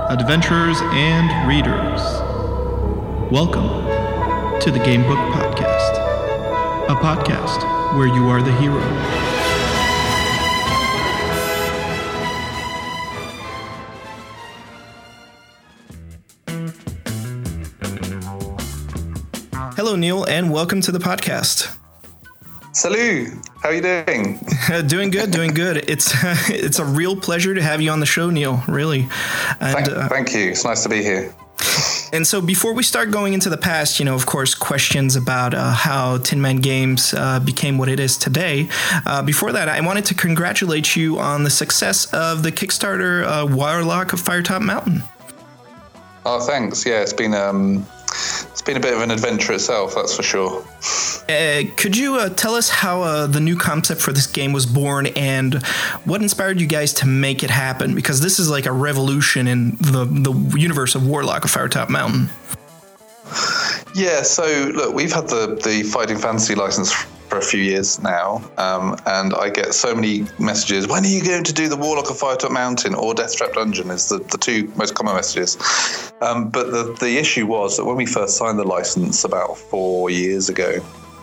adventurers, and readers. Welcome to the Gamebook Podcast, a podcast where you are the hero. Hello, Neil, and welcome to the podcast. Salut! How are you doing? Doing good. It's a real pleasure to have you on the show, Neil, really. And, thank you. It's nice to be here. And so before we start going into the past, of course, questions about how Tin Man Games became what it is today. Before that, I wanted to congratulate you on the success of the Kickstarter Warlock of Firetop Mountain. Oh, thanks. Yeah, it's been a bit of an adventure itself, that's for sure. Could you tell us how the new concept for this game was born and what inspired you guys to make it happen? Because this is like a revolution in the universe of Warlock of Firetop Mountain. Yeah, so look, we've had the Fighting Fantasy license for a few years now, and I get so many messages, when are you going to do the Warlock of Firetop Mountain or Deathtrap Dungeon is the two most common messages. But the issue was that when we first signed the license about 4 years ago,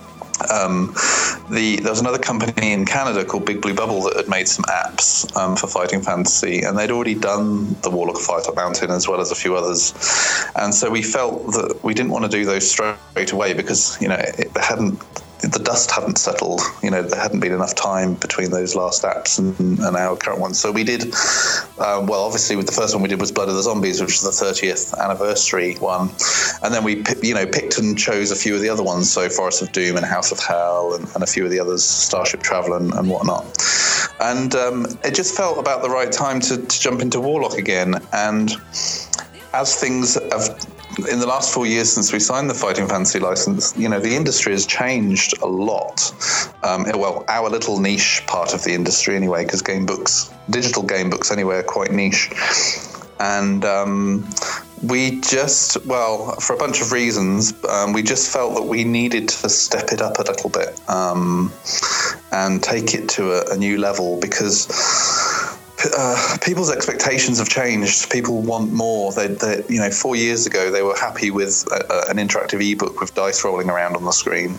there was another company in Canada called Big Blue Bubble that had made some apps for Fighting Fantasy, and they'd already done the Warlock of Firetop Mountain as well as a few others. And so we felt that we didn't want to do those straight away because, the dust hadn't settled. There hadn't been enough time between those last apps and our current ones. So we did, obviously with the first one we did was Blood of the Zombies, which was the 30th anniversary one. And then we, picked and chose a few of the other ones. So Forest of Doom and House of Hell and a few of the others, Starship Traveler and whatnot. And it just felt about the right time to jump into Warlock again. And as things have, in the last 4 years since we signed the Fighting Fantasy license, the industry has changed a lot. Our little niche part of the industry anyway, because digital game books anyway, are quite niche. And we just, for a bunch of reasons, we just felt that we needed to step it up a little bit and take it to a new level because people's expectations have changed. People want more. 4 years ago, they were happy with an interactive ebook with dice rolling around on the screen,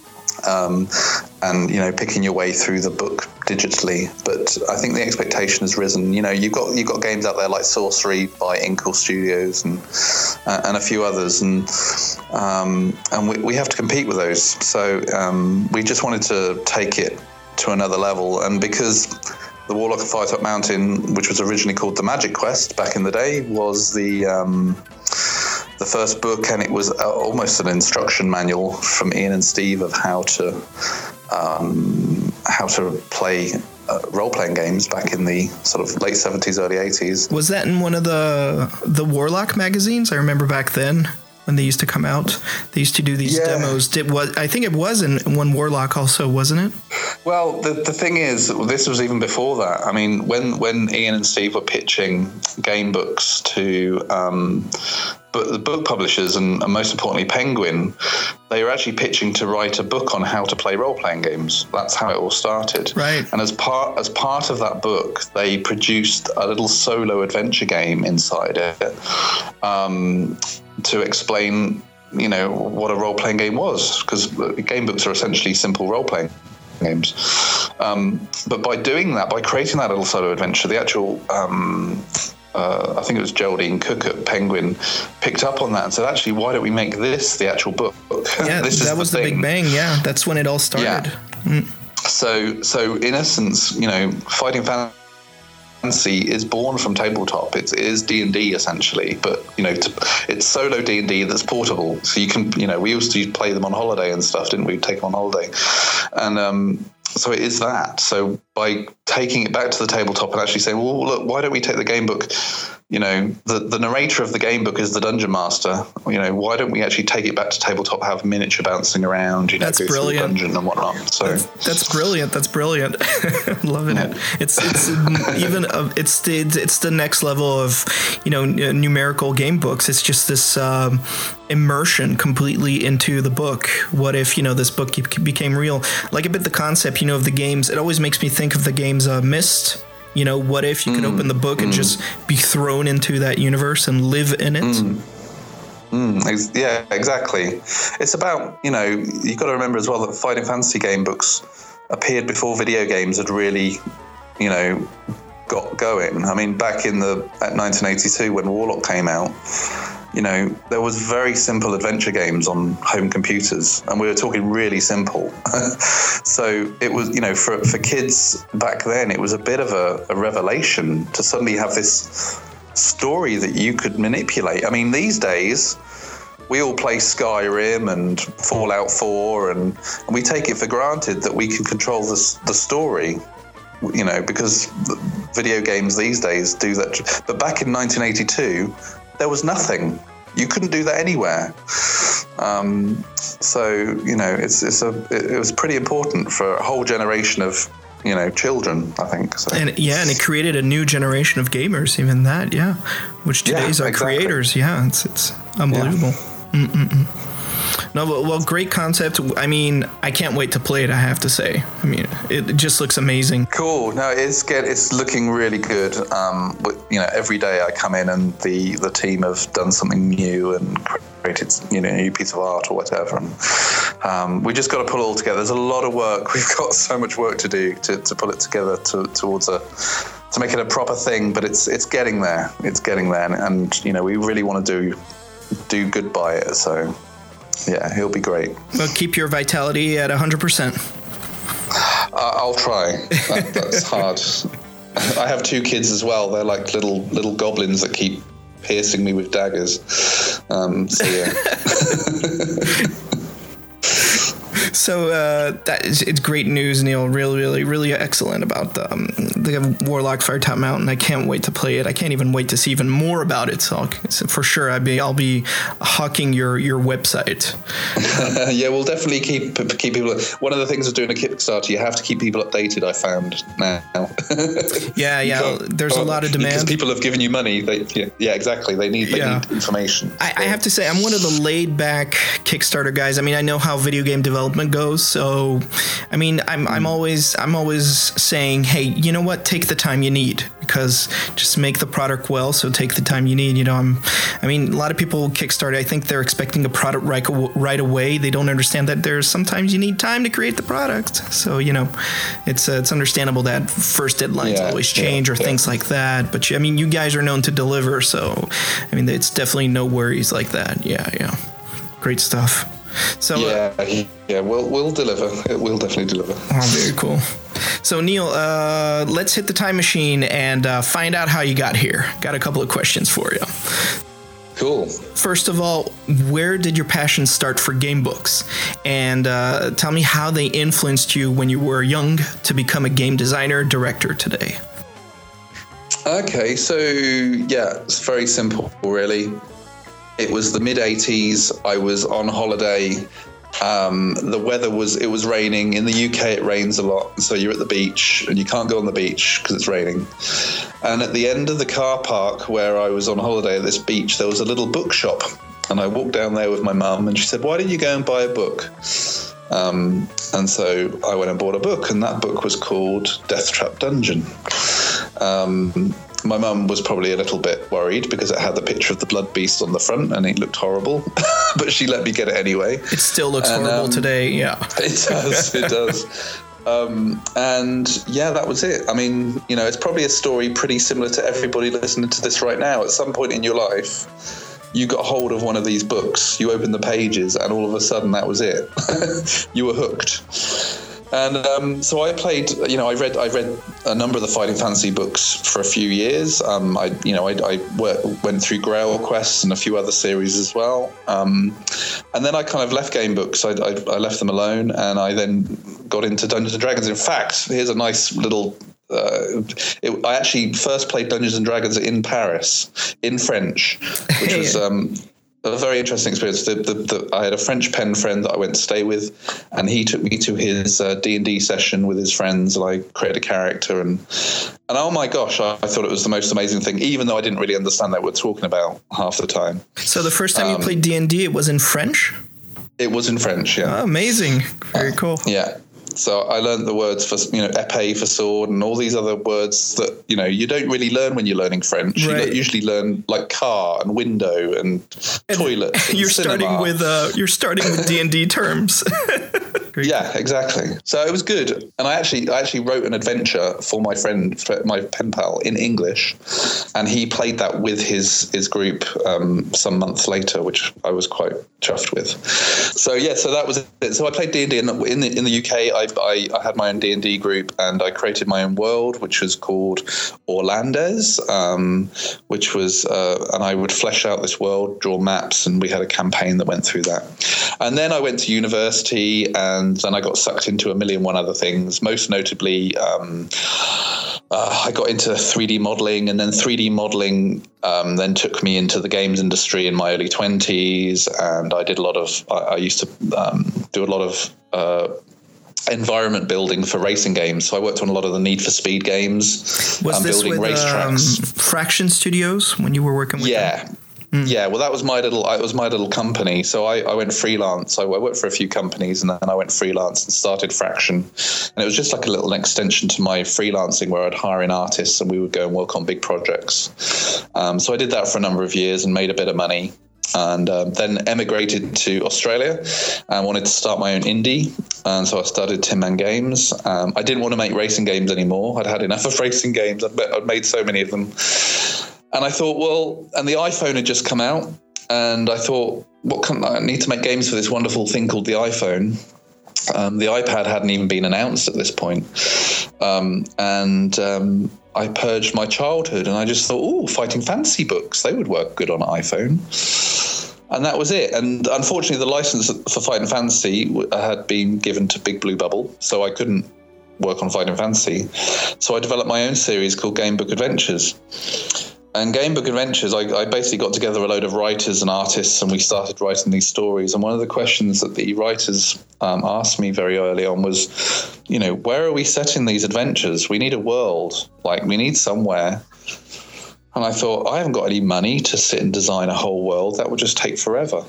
and picking your way through the book digitally. But I think the expectation has risen. You've got games out there like Sorcery by Inkle Studios and a few others, and we have to compete with those. So we just wanted to take it to another level, and because the Warlock of Firetop Mountain, which was originally called The Magic Quest back in the day, was the first book, and it was almost an instruction manual from Ian and Steve of how to play role-playing games back in the sort of late 70s, early 80s. Was that in one of the Warlock magazines? I remember back then when they used to come out. They used to do these demos. I think it was in one Warlock also, wasn't it? Well, the thing is, this was even before that. I mean, when Ian and Steve were pitching game books to the book publishers and most importantly Penguin, they were actually pitching to write a book on how to play role-playing games. That's how it all started. Right. And as part of that book, they produced a little solo adventure game inside it to explain, what a role-playing game was, because game books are essentially simple role-playing games. But by doing that, by creating that little solo adventure, the actual I think it was Geraldine Cook at Penguin picked up on that and said, actually, why don't we make this the actual book? Yeah, that was the big bang. Yeah, that's when it all started. Yeah. So in essence, Fighting Fantasy is born from tabletop. It is D&D essentially, but it's solo D&D that's portable. So you can, we used to play them on holiday and stuff, didn't we? Take them on holiday, and so it is that. So by taking it back to the tabletop and actually saying, well, look, why don't we take the game book? The narrator of the game book is the dungeon master. Why don't we actually take it back to tabletop, have miniature bouncing around, that's go brilliant. through the dungeon and whatnot. So that's brilliant. That's brilliant. Loving it. It's even it's the next level of numerical game books. It's just this immersion completely into the book. What if this book became real? Like a bit the concept of the games. It always makes me think of the games Myst You know, what if you could open the book and just be thrown into that universe and live in it? Yeah, exactly. It's about, you know, you've got to remember as well that Fighting Fantasy game books appeared before video games had really, you know, got going. I mean, back at 1982 when Warlock came out, you know, there was very simple adventure games on home computers, and we were talking really simple. So it was, you know, for kids back then, it was a bit of a revelation to suddenly have this story that you could manipulate. I mean, these days we all play Skyrim and Fallout 4 and we take it for granted that we can control the story, you know, because video games these days do that. But back in 1982 there was nothing. You couldn't do that anywhere. So, you know, it was pretty important for a whole generation of, you know, children, I think. So. And it created a new generation of gamers, even that, which today's are creators. Yeah, it's unbelievable. Yeah. No, well, great concept. I mean, I can't wait to play it, I have to say. I mean, it just looks amazing. Cool. No, it's looking really good. You know, every day I come in and the team have done something new and created, you know, a new piece of art or whatever. And we just got to pull it all together. There's a lot of work. We've got so much work to do to pull it together to make it a proper thing. But it's getting there. It's getting there. And you know, we really want to do good by it. So. Yeah, he'll be great. Well, keep your vitality at 100%. I'll try. That's hard. I have 2 kids as well. They're like little goblins that keep piercing me with daggers. So yeah. So it's great news, Neil. Really, really, really excellent about the Warlock Firetop Mountain. I can't wait to play it. I can't even wait to see even more about it. So for sure, I'll be hawking your website. Yeah, we'll definitely keep people. One of the things of doing a Kickstarter, you have to keep people updated. I found now. Yeah. There's a lot of demand because people have given you money. Exactly. They need information. I have to say, I'm one of the laid back Kickstarter guys. I mean, I know how video game development goes. So, I mean, I'm always saying, hey, you know what? Take the time you need, because just make the product well. So take the time you need. You know, a lot of people Kickstarter, I think they're expecting a product right away. They don't understand that there's sometimes you need time to create the product. So, you know, it's understandable that first deadlines always change or things like that. But I mean, you guys are known to deliver. So, I mean, it's definitely no worries like that. Yeah. Great stuff. So we'll deliver. It will definitely deliver. Oh, very cool. So Neil, let's hit the time machine and find out how you got here. Got a couple of questions for you. Cool. First of all, where did your passion start for game books? And tell me how they influenced you when you were young to become a game designer, director today. Okay, so it's very simple, really. It was the mid-80s. I was on holiday. The weather was raining. In the UK, it rains a lot. So you're at the beach and you can't go on the beach because it's raining. And at the end of the car park where I was on holiday at this beach, there was a little bookshop. And I walked down there with my mum and she said, why don't you go and buy a book? And so I went and bought a book, and that book was called Deathtrap Dungeon. My mum was probably a little bit worried because it had the picture of the blood beast on the front and it looked horrible, but she let me get it anyway. It still looks horrible today, yeah. It does. And that was it. I mean, you know, it's probably a story pretty similar to everybody listening to this right now. At some point in your life, you got hold of one of these books, you opened the pages, and all of a sudden that was it. You were hooked. And so I played, you know, I read a number of the Fighting Fantasy books for a few years. I went through Grail Quest and a few other series as well. And then I kind of left game books. I left them alone, and I then got into Dungeons and Dragons. In fact, here's a nice little. I actually first played Dungeons and Dragons in Paris in French, which was a very interesting experience. I had a French pen friend that I went to stay with, and he took me to his D&D session with his friends, and I created a character, and oh my gosh, I thought it was the most amazing thing, even though I didn't really understand what we were talking about half the time. So the first time you played D&D, it was in French? It was in French, yeah. Oh, amazing. Very cool. Yeah. So I learned the words for, épée for sword and all these other words that, you don't really learn when you're learning French. Right. You usually learn like car and window and toilet. And you're cinema. starting with D&D terms. Yeah, exactly. So it was good. And I actually wrote an adventure for my friend, my pen pal, in English. And he played that with his group some months later, which I was quite chuffed with. So that was it. So I played D&D in the UK. I had my own D&D group, and I created my own world, which was called Orlandes, which was, and I would flesh out this world, draw maps, and we had a campaign that went through that. And then I went to university, and then I got sucked into a million one other things. Most notably, I got into 3D modeling, and then 3D modeling then took me into the games industry in my early 20s. And I did I used to do a lot of environment building for racing games. So I worked on a lot of the Need for Speed games. Was this building with racetracks. Fraction Studios when you were working with them? Yeah, well, that was my little company. So I went freelance. I worked for a few companies, and then I went freelance and started Fraction. And it was just like a little extension to my freelancing, where I'd hire in artists and we would go and work on big projects. So I did that for a number of years and made a bit of money. And then emigrated to Australia and wanted to start my own indie. And so I started Tin Man Games. I didn't want to make racing games anymore. I'd had enough of racing games. I'd made so many of them. And I thought, and the iPhone had just come out, and I thought, I need to make games for this wonderful thing called the iPhone. The iPad hadn't even been announced at this point. I purged my childhood, and I just thought, Fighting Fantasy books, they would work good on an iPhone. And that was it. And unfortunately, the license for Fighting Fantasy had been given to Big Blue Bubble, so I couldn't work on Fighting Fantasy. So I developed my own series called Gamebook Adventures. And Gamebook Adventures, I basically got together a load of writers and artists, and we started writing these stories. And one of the questions that the writers asked me very early on was, where are we setting these adventures? We need a world, we need somewhere. And I thought, I haven't got any money to sit and design a whole world. That would just take forever.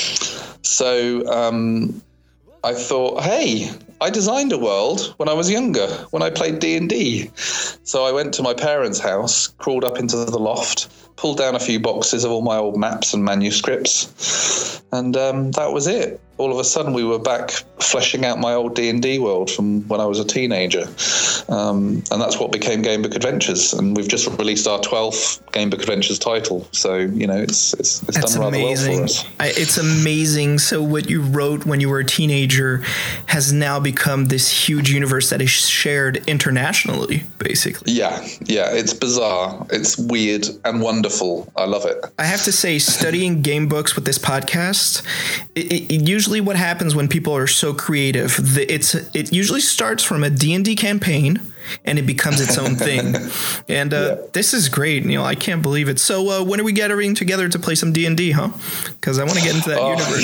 So I thought, hey, I designed a world when I was younger, when I played D&D. So I went to my parents' house, crawled up into the loft, pulled down a few boxes of all my old maps and manuscripts, and that was it. All of a sudden, we were back fleshing out my old D&D world from when I was a teenager. And that's what became Gamebook Adventures. And we've just released our 12th Gamebook Adventures title. So, it's done rather well for us. It's amazing. So what you wrote when you were a teenager has now become this huge universe that is shared internationally, basically. Yeah. It's bizarre. It's weird and wonderful. I love it. I have to say, studying game books with this podcast, it usually what happens when people are so creative, it usually starts from a D&D campaign and it becomes its own thing. And this is great. I can't believe it. So when are we gathering together to play some D&D, huh? Because I want to get into that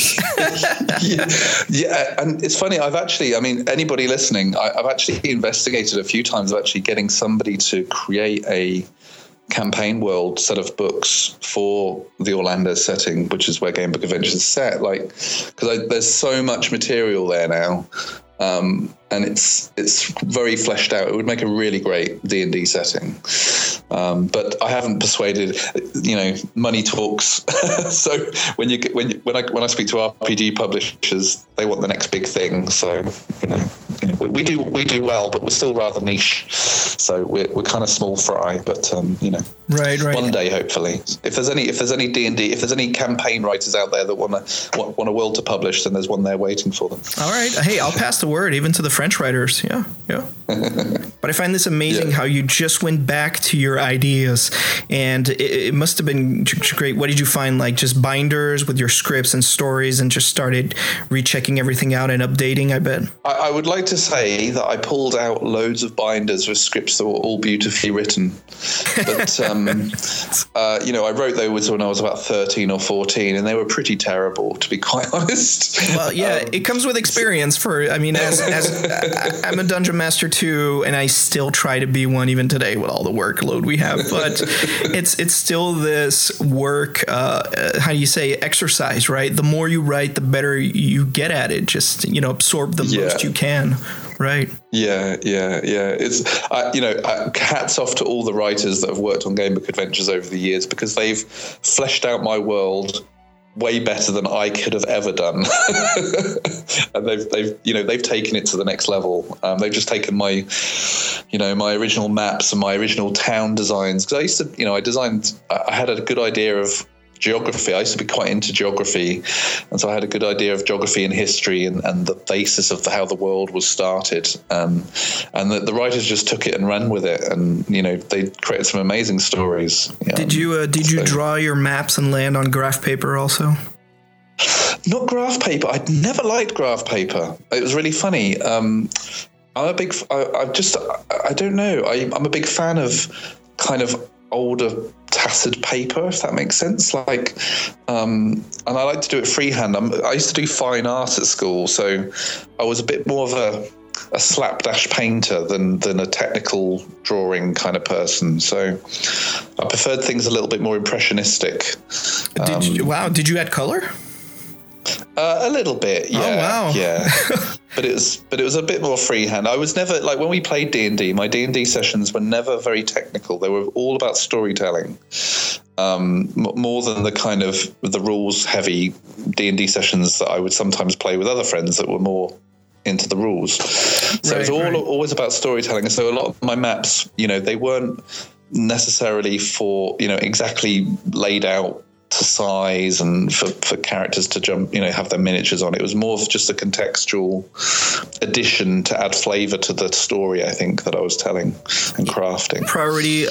universe. Yeah. And it's funny. Anybody listening, I've actually investigated a few times of actually getting somebody to create a campaign world set of books for the Orlando setting, which is where Gamebook Adventures is set. Because there's so much material there now, and it's very fleshed out. It would make a really great D&D setting, but I haven't persuaded. Money talks. So when I speak to RPG publishers, they want the next big thing. So we do well, but we're still rather niche. So we're kind of small fry, but right. One day, hopefully, if there's any D&D, if there's any campaign writers out there that want a world to publish, then there's one there waiting for them. All right. Hey, I'll pass the word even to the French writers. Yeah. But I find this amazing how you just went back to your ideas, and it must have been great. What did you find? Just binders with your scripts and stories, and just started rechecking everything out and updating, I bet. I would like to say that I pulled out loads of binders with scripts that were all beautifully written. But, I wrote those when I was about 13 or 14, and they were pretty terrible, to be quite honest. Well, yeah, it comes with experience as I'm a dungeon master too, and I still try to be one even today with all the workload we have. But it's still this work, how do you say, exercise, right? The more you write, the better you get at it. Just, absorb the most you can. right? Yeah. It's hats off to all the writers that have worked on Gamebook Adventures over the years, because they've fleshed out my world way better than I could have ever done. And they've taken it to the next level. They've just taken my original maps and my original town designs, because I had a good idea of geography. I used to be quite into geography, and so I had a good idea of geography and history and the basis of how the world was started. And the writers just took it and ran with it, and they created some amazing stories. Did you draw your maps and land on graph paper also? Not graph paper. I'd never liked graph paper. It was really funny. I'm a big fan of kind of older tattered paper, if that makes sense. Like, and I like to do it freehand. I used to do fine art at school, so I was a bit more of a slapdash painter than a technical drawing kind of person. So I preferred things a little bit more impressionistic. Did you add color? A little bit, yeah. Oh, wow. Yeah. But it was a bit more freehand. I was never, like, when we played D&D, my D&D sessions were never very technical. They were all about storytelling, more than the kind of the rules heavy D&D sessions that I would sometimes play with other friends that were more into the rules. So it was always about storytelling. So a lot of my maps, they weren't necessarily for, exactly laid out to size and for characters to jump, have their miniatures on. It was more of just a contextual addition to add flavor to the story, I think, that I was telling and crafting. Priority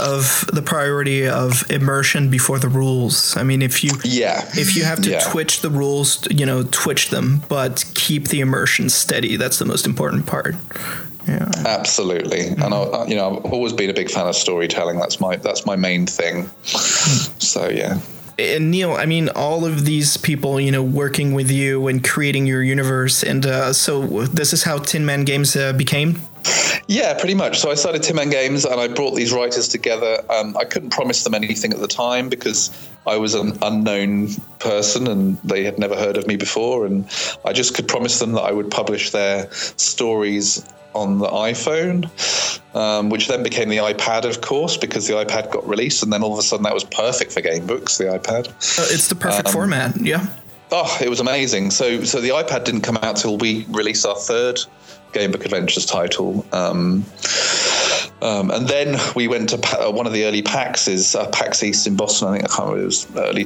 of immersion before the rules. I mean, if you have to twitch the rules, twitch them, but keep the immersion steady. That's the most important part. Yeah, absolutely. And I've always been a big fan of storytelling. That's my main thing. So yeah. And Neil, I mean, all of these people, working with you and creating your universe. And so this is how Tin Man Games became? Yeah, pretty much. So I started Tin Man Games and I brought these writers together. I couldn't promise them anything at the time because I was an unknown person and they had never heard of me before. And I just could promise them that I would publish their stories on the iPhone, which then became the iPad, of course, because the iPad got released, and then all of a sudden that was perfect for game books, the iPad. It's the perfect format, yeah. Oh, it was amazing. So the iPad didn't come out till we released our third Gamebook Adventures title. And then we went to one of the early PAX East in Boston. I can't remember, it was early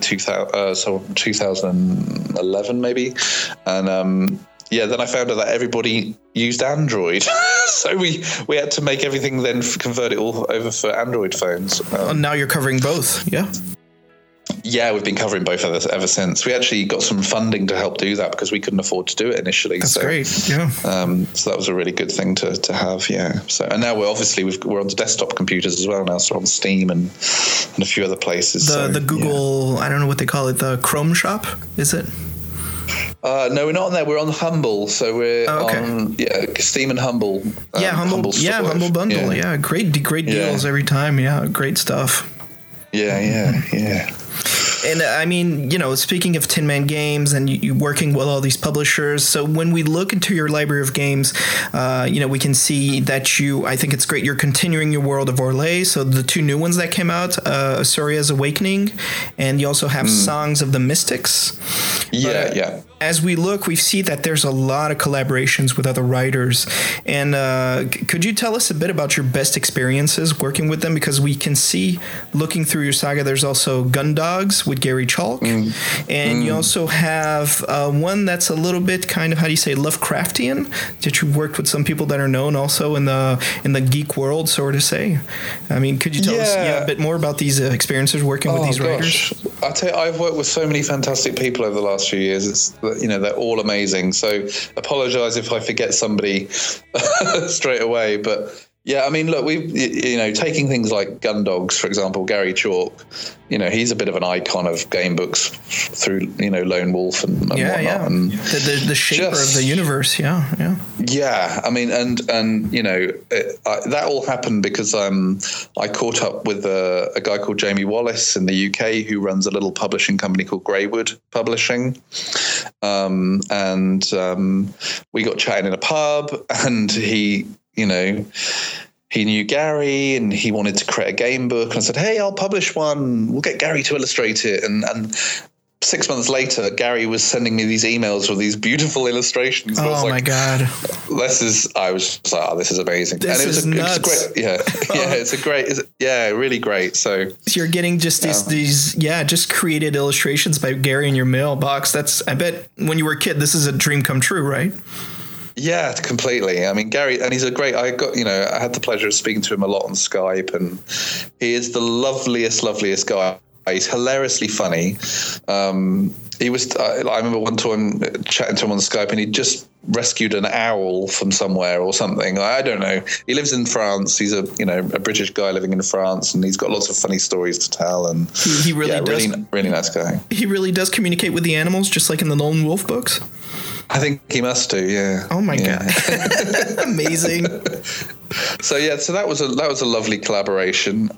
2011 maybe. And then I found out that everybody used Android. So we had to make everything then convert it all over for Android phones. Now you're covering both, yeah? Yeah, we've been covering both ever since. We actually got some funding to help do that because we couldn't afford to do it initially. That's great, yeah. So that was a really good thing to have, yeah. So, and now we're onto desktop computers as well now, so on Steam and a few other places. The Google, yeah. I don't know what they call it, the Chrome shop, is it? No, we're not on there. We're on Humble, so we're on Steam and Humble. Humble Bundle. Yeah, great deals every time. Yeah, great stuff. Yeah. And I mean, speaking of Tin Man Games and you working with all these publishers, so when we look into your library of games, we can see that I think it's great, you're continuing your World of Orlais, so the two new ones that came out, Asuria's Awakening, and you also have Songs of the Mystics. Yeah. As we look, we see that there's a lot of collaborations with other writers. And could you tell us a bit about your best experiences working with them? Because we can see, looking through your saga, there's also Gundogs with Gary Chalk. And you also have one that's a little bit kind of, Lovecraftian, that you worked with some people that are known also in the geek world, so to say. I mean, could you tell us a bit more about these experiences working with these writers? I tell you, I've worked with so many fantastic people over the last few years. They're all amazing. So apologize if I forget somebody straight away. But yeah, I mean, look, we've, taking things like Gundogs, for example, Gary Chalk, he's a bit of an icon of game books through, Lone Wolf and whatnot. Yeah. And the shaper of the universe. Yeah. Yeah. I mean, and that all happened because I caught up with a guy called Jamie Wallace in the UK who runs a little publishing company called Greywood Publishing. and we got chatting in a pub, and he knew Gary and he wanted to create a game book. And I said, hey, I'll publish one. We'll get Gary to illustrate it. And 6 months later, Gary was sending me these emails with these beautiful illustrations. Oh, my God. I was just like, this is amazing. This is nuts. It's great, really great. So you're getting just these just created illustrations by Gary in your mailbox. I bet when you were a kid, this is a dream come true, right? Yeah, completely. I mean, Gary, and he's I had the pleasure of speaking to him a lot on Skype, and he is the loveliest guy. He's hilariously funny. I remember one time chatting to him on Skype, and he just rescued an owl from somewhere or something. I don't know. He lives in France. He's a British guy living in France, and he's got lots of funny stories to tell. And he really does. Really nice guy. He really does communicate with the animals, just like in the Lone Wolf books. I think he must do. Yeah. Oh my God. Amazing. So that was a lovely collaboration.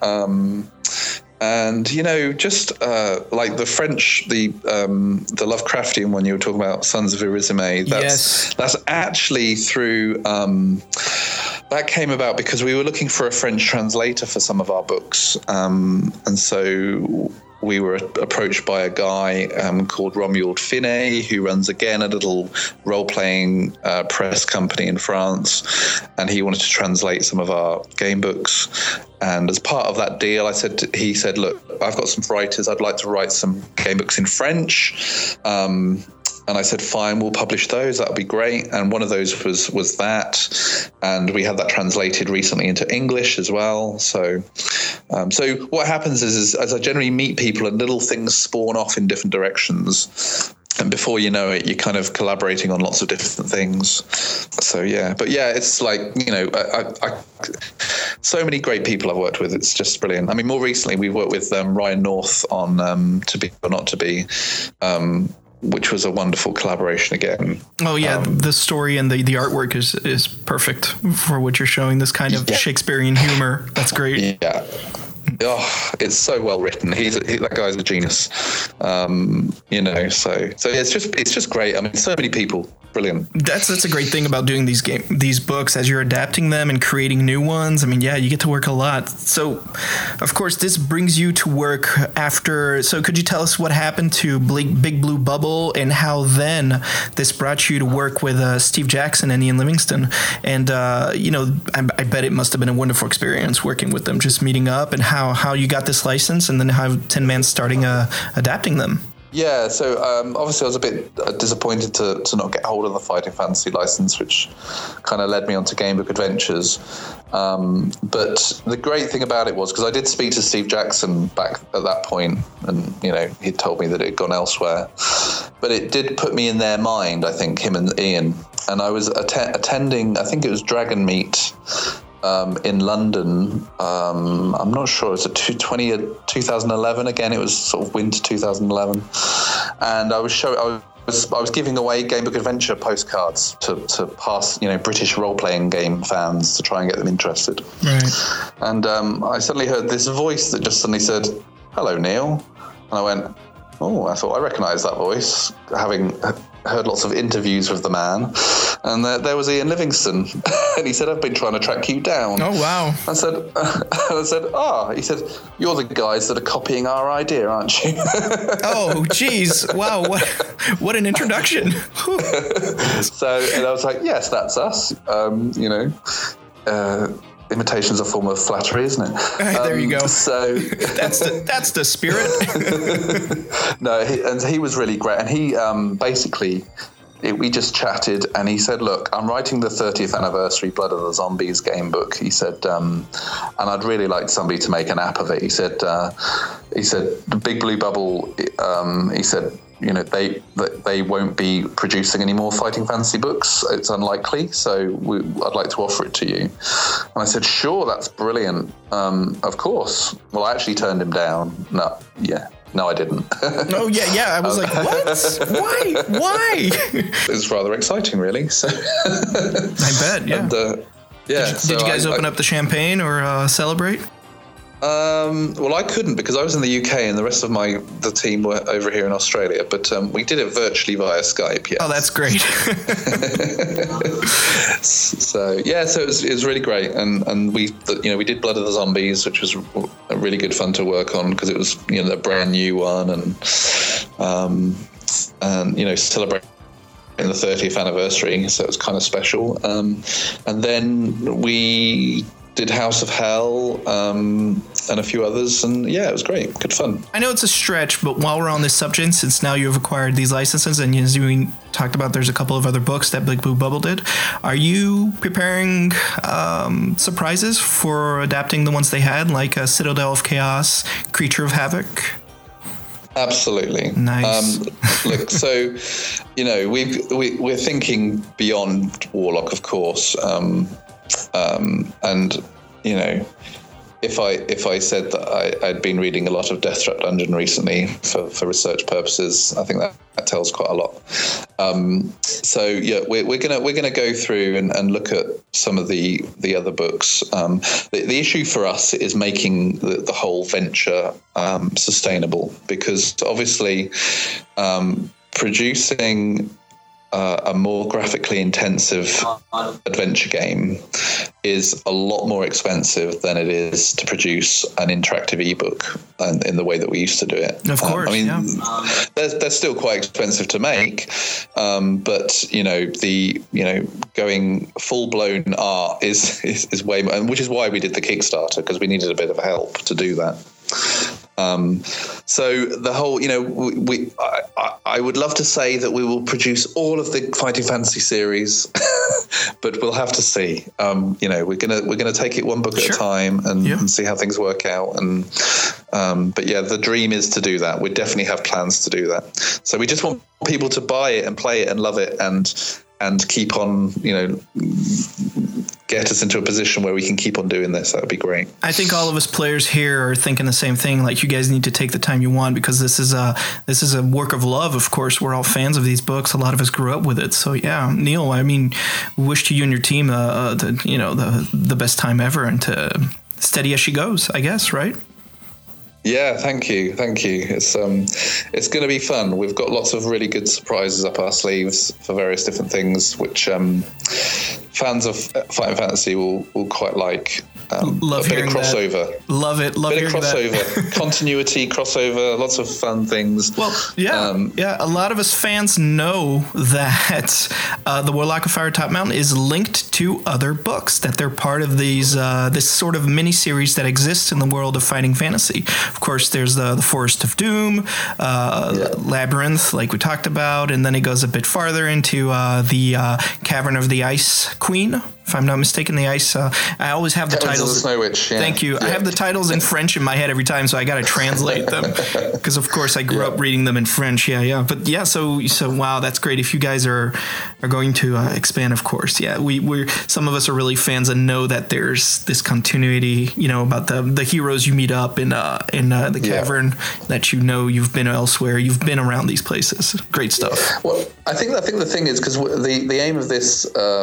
And just like the French, the Lovecraftian one you were talking about, Sons of Irisime. That's actually through. That came about because we were looking for a French translator for some of our books, and so we were approached by a guy called Romuald Finet, who runs, again, a little role-playing press company in France, and he wanted to translate some of our game books. And as part of that deal, he said, look, I've got some writers. I'd like to write some game books in French. And I said, fine, we'll publish those. That'll be great. And one of those was that. And we had that translated recently into English as well. So what happens is as I generally meet people and little things spawn off in different directions. And before you know it, you're kind of collaborating on lots of different things. So, yeah. But, yeah, it's like, so many great people I've worked with. It's just brilliant. I mean, more recently, we've worked with Ryan North on To Be or Not to Be, which was a wonderful collaboration again. Oh, yeah. The story and the artwork is perfect for what you're showing, this kind of Shakespearean humor. That's great. Yeah. Oh, it's so well written. That guy's a genius. So it's just great. I mean, so many people. Brilliant. That's a great thing about doing these books as you're adapting them and creating new ones. I mean, yeah, you get to work a lot. So, of course, this brings you to work after. So, could you tell us what happened to Big Blue Bubble and how then this brought you to work with Steve Jackson and Ian Livingstone? And I bet it must have been a wonderful experience working with them, just meeting up, and how you got this license, and then how Tin Man starting adapting them. Yeah, so obviously I was a bit disappointed to not get hold of the Fighting Fantasy license, which kind of led me on to Game Book Adventures. But the great thing about it was, because I did speak to Steve Jackson back at that point, and he'd told me that it had gone elsewhere. But it did put me in their mind, I think, him and Ian. And I was attending, I think it was Dragon Meet in London. I'm not sure. It was 2011. Again, it was sort of winter 2011, and I was giving away Game Book Adventure postcards to pass, British role-playing game fans to try and get them interested. Right. And I suddenly heard this voice that just suddenly said, "Hello, Neil," and I went, "Oh," I thought, I recognise that voice, having heard lots of interviews with the man. And there was Ian Livingstone, and he said, "I've been trying to track you down." Oh, wow. I said, he said, "You're the guys that are copying our idea, aren't you?" Oh, geez. Wow. What an introduction. And I was like, yes, that's us. Imitation's a form of flattery, isn't it? There you go. So that's the spirit. No, he was really great, and he we just chatted, and he said, "Look, I'm writing the 30th anniversary Blood of the Zombies game book." He said, and I'd really like somebody to make an app of it. He said, the Big Blue Bubble. He said, they won't be producing any more Fighting Fantasy books. It's unlikely, so I'd like to offer it to you. And I said, sure, that's brilliant. Of course. Well, I actually turned him down. No, I didn't. Oh, yeah. I was like, what? Why? It was rather exciting, really. So I bet, yeah. And, Did you guys open up the champagne or celebrate? Well, I couldn't because I was in the UK and the rest of the team were over here in Australia. But we did it virtually via Skype. Yes. Oh, that's great. So it was really great, and we did Blood of the Zombies, which was really good fun to work on because it was a brand new one, and celebrating the 30th anniversary, so it was kind of special. And then we did House of Hell and a few others, and it was great, good fun. I know it's a stretch, but while we're on this subject, since now you've acquired these licenses, and as we talked about, there's a couple of other books that Big Blue Bubble did. Are you preparing surprises for adapting the ones they had, like Citadel of Chaos, Creature of Havoc? Absolutely. Nice. Look, so we're thinking beyond Warlock, of course. And if I said that I'd been reading a lot of Death Trap Dungeon recently for research purposes, I think that tells quite a lot. We're gonna go through and look at some of the other books. The issue for us is making the whole venture sustainable, because obviously producing a more graphically intensive adventure game is a lot more expensive than it is to produce an interactive ebook in the way that we used to do it. Of course, they're still quite expensive to make, but going full blown art is way more, which is why we did the Kickstarter, because we needed a bit of help to do that. So the whole, I would love to say that we will produce all of the Fighting Fantasy series, but we'll have to see. We're gonna take it one book at a time and see how things work out. And but the dream is to do that. We definitely have plans to do that. So we just want people to buy it and play it and love it and keep on, get us into a position where we can keep on doing this. That would be great. I think all of us players here are thinking the same thing. Like, you guys need to take the time you want, because this is a work of love. Of course, we're all fans of these books. A lot of us grew up with it. So Neil, I mean, we wish to you and your team the best time ever, and to steady as she goes, I guess, right? Yeah, thank you. It's going to be fun. We've got lots of really good surprises up our sleeves for various different things, which fans of Fighting Fantasy will quite like. Love a bit hearing of crossover. That. Love it. Love hearing crossover. That. Continuity, crossover, lots of fun things. Well, a lot of us fans know that the Warlock of Fire Top Mountain is linked to other books, that they're part of these this sort of mini-series that exists in the world of Fighting Fantasy. Of course, there's the Forest of Doom, Labyrinth, like we talked about, and then it goes a bit farther into the Cavern of the Ice Queen, if I'm not mistaken. The ice. I always have the titles. Of the Snow Witch. Yeah. Thank you. Yeah. I have the titles in French in my head every time, so I got to translate them, because of course I grew up reading them in French. But so wow, that's great. If you guys are going to expand, of course, we're some of us are really fans and know that there's this continuity, about the heroes you meet up in the cavern, that you've been elsewhere, you've been around these places. Great stuff. Well, I think the thing is, because the aim of this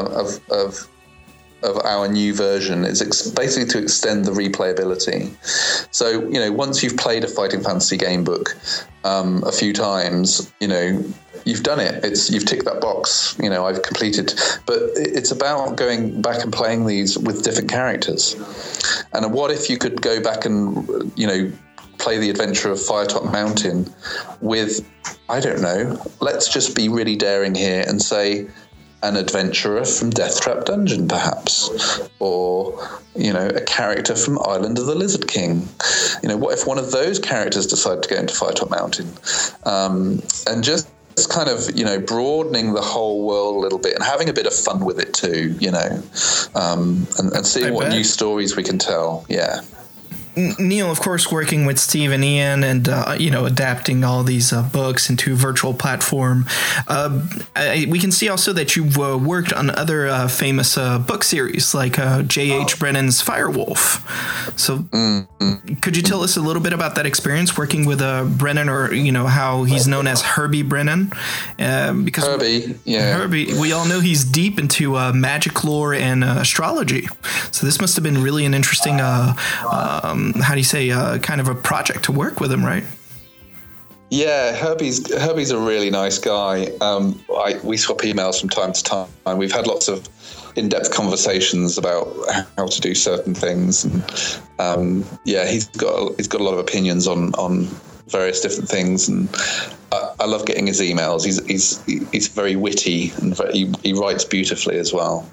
of our new version is basically to extend the replayability. So, once you've played a Fighting Fantasy game book a few times, you've done it. You've ticked that box. I've completed. But it's about going back and playing these with different characters. And what if you could go back and, play the adventure of Firetop Mountain with, I don't know, let's just be really daring here and say, an adventurer from Death Trap Dungeon, perhaps, or a character from Island of the Lizard King. What if one of those characters decided to go into Firetop Mountain, and just kind of broadening the whole world a little bit and having a bit of fun with it too, and seeing what new stories we can tell. Yeah. Neil, of course, working with Steve and Ian and, adapting all these books into a virtual platform. We can see also that you've worked on other famous book series like J.H. Brennan's Firewolf. So could you tell us a little bit about that experience working with Brennan, or, how he's known as Herbie Brennan? Because Herbie, we all know he's deep into magic lore and astrology. So this must have been really an interesting how do you say, kind of a project to work with him, right? Yeah, Herbie's a really nice guy. We swap emails from time to time. We've had lots of in-depth conversations about how to do certain things, and he's got a lot of opinions on various different things, and I love getting his emails. He's very witty, and he writes beautifully as well.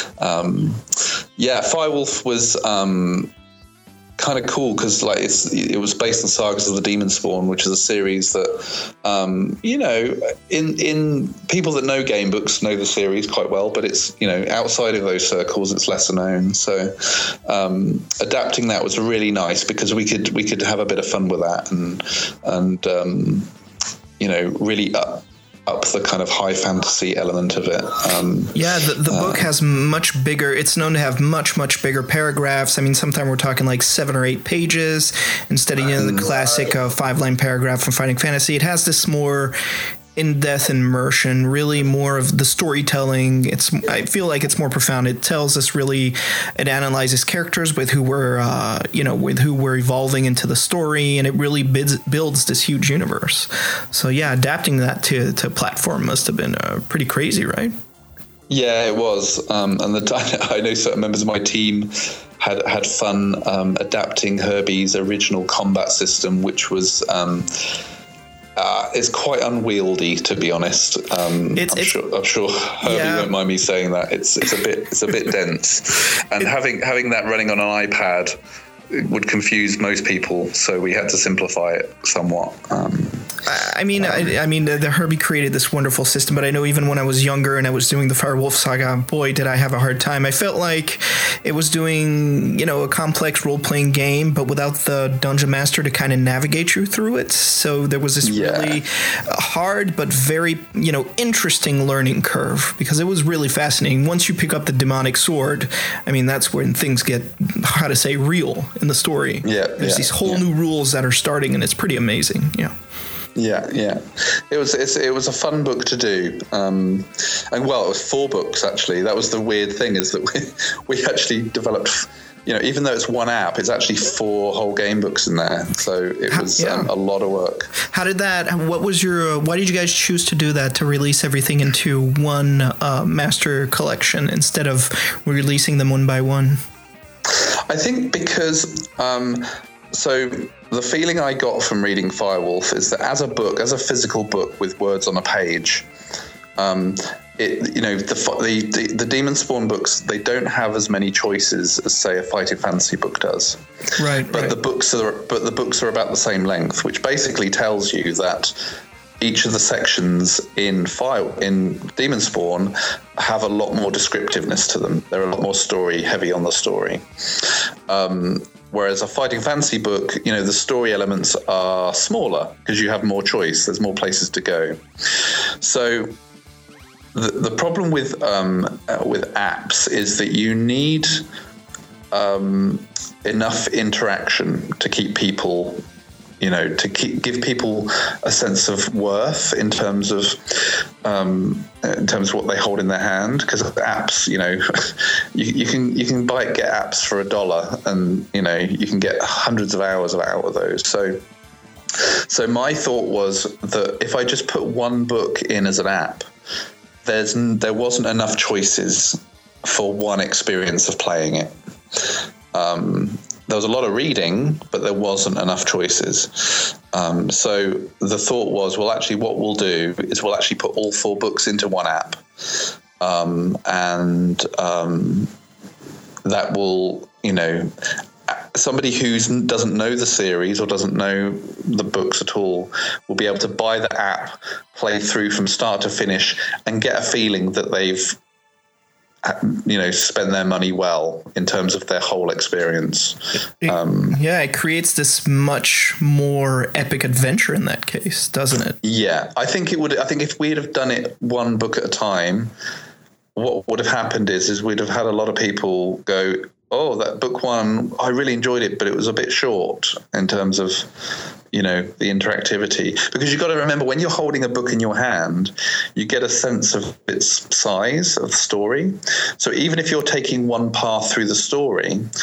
Firewolf was kind of cool because it was based on Sagas of the Demon Spawn, which is a series that in people that know game books know the series quite well, but it's outside of those circles it's lesser known. So adapting that was really nice because we could have a bit of fun with that and really up the kind of high fantasy element of it. The book has much bigger, it's known to have much bigger paragraphs. I mean, sometimes we're talking like 7 or 8 pages instead of the classic 5-line paragraph from Fighting Fantasy. It has this more in-depth immersion, really more of the storytelling. I feel like it's more profound. It tells us it analyzes characters with who we're evolving into the story, and it really builds this huge universe. So adapting that to platform must have been pretty crazy, right? Yeah, it was. And I know certain members of my team had fun adapting Herbie's original combat system, which was it's quite unwieldy, to be honest. I'm sure Herbie won't mind me saying that. It's a bit dense, and having that running on an iPad would confuse most people, so we had to simplify it somewhat. The Herbie created this wonderful system, but I know even when I was younger and I was doing the Firewolf Saga, boy, did I have a hard time. I felt like it was doing, a complex role-playing game, but without the Dungeon Master to kind of navigate you through it. So there was this really hard but very, interesting learning curve, because it was really fascinating. Once you pick up the demonic sword, that's when things get, real in the story. There's these whole new rules that are starting, and it's pretty amazing. Yeah. It was a fun book to do, and it was 4 books actually. That was the weird thing, is that we actually developed. Even though it's one app, it's actually 4 whole game books in there. So it was a lot of work. How did that? What was why did you guys choose to do that, to release everything into one master collection instead of releasing them one by one? I think because so the feeling I got from reading Firewolf is that as a physical book with words on a page, the Demon Spawn books, they don't have as many choices as, say, a Fighting Fantasy book does. Right. The books are about the same length, which basically tells you that each of the sections in Demon Spawn have a lot more descriptiveness to them. They're a lot more heavy on the story. Whereas a Fighting Fantasy book, the story elements are smaller because you have more choice. There's more places to go. So the problem with apps is that you need enough interaction to keep people, give people a sense of worth in terms of what they hold in their hand. Because apps, you can get apps for $1, and you can get hundreds of hours out of those. So my thought was that if I just put one book in as an app, there wasn't enough choices for one experience of playing it. There was a lot of reading, but there wasn't enough choices. So the thought was, well, actually what we'll do is we'll actually put all 4 books into one app. And that will, somebody who doesn't know the series or doesn't know the books at all will be able to buy the app, play through from start to finish, and get a feeling that they've spend their money well in terms of their whole experience. It creates this much more epic adventure in that case, doesn't it? Yeah, I think it would. I think if we'd have done it one book at a time, what would have happened is we'd have had a lot of people go, oh, that book one, I really enjoyed it, but it was a bit short in terms of, the interactivity. Because you've got to remember, when you're holding a book in your hand, you get a sense of its size of the story. So even if you're taking one path through the story,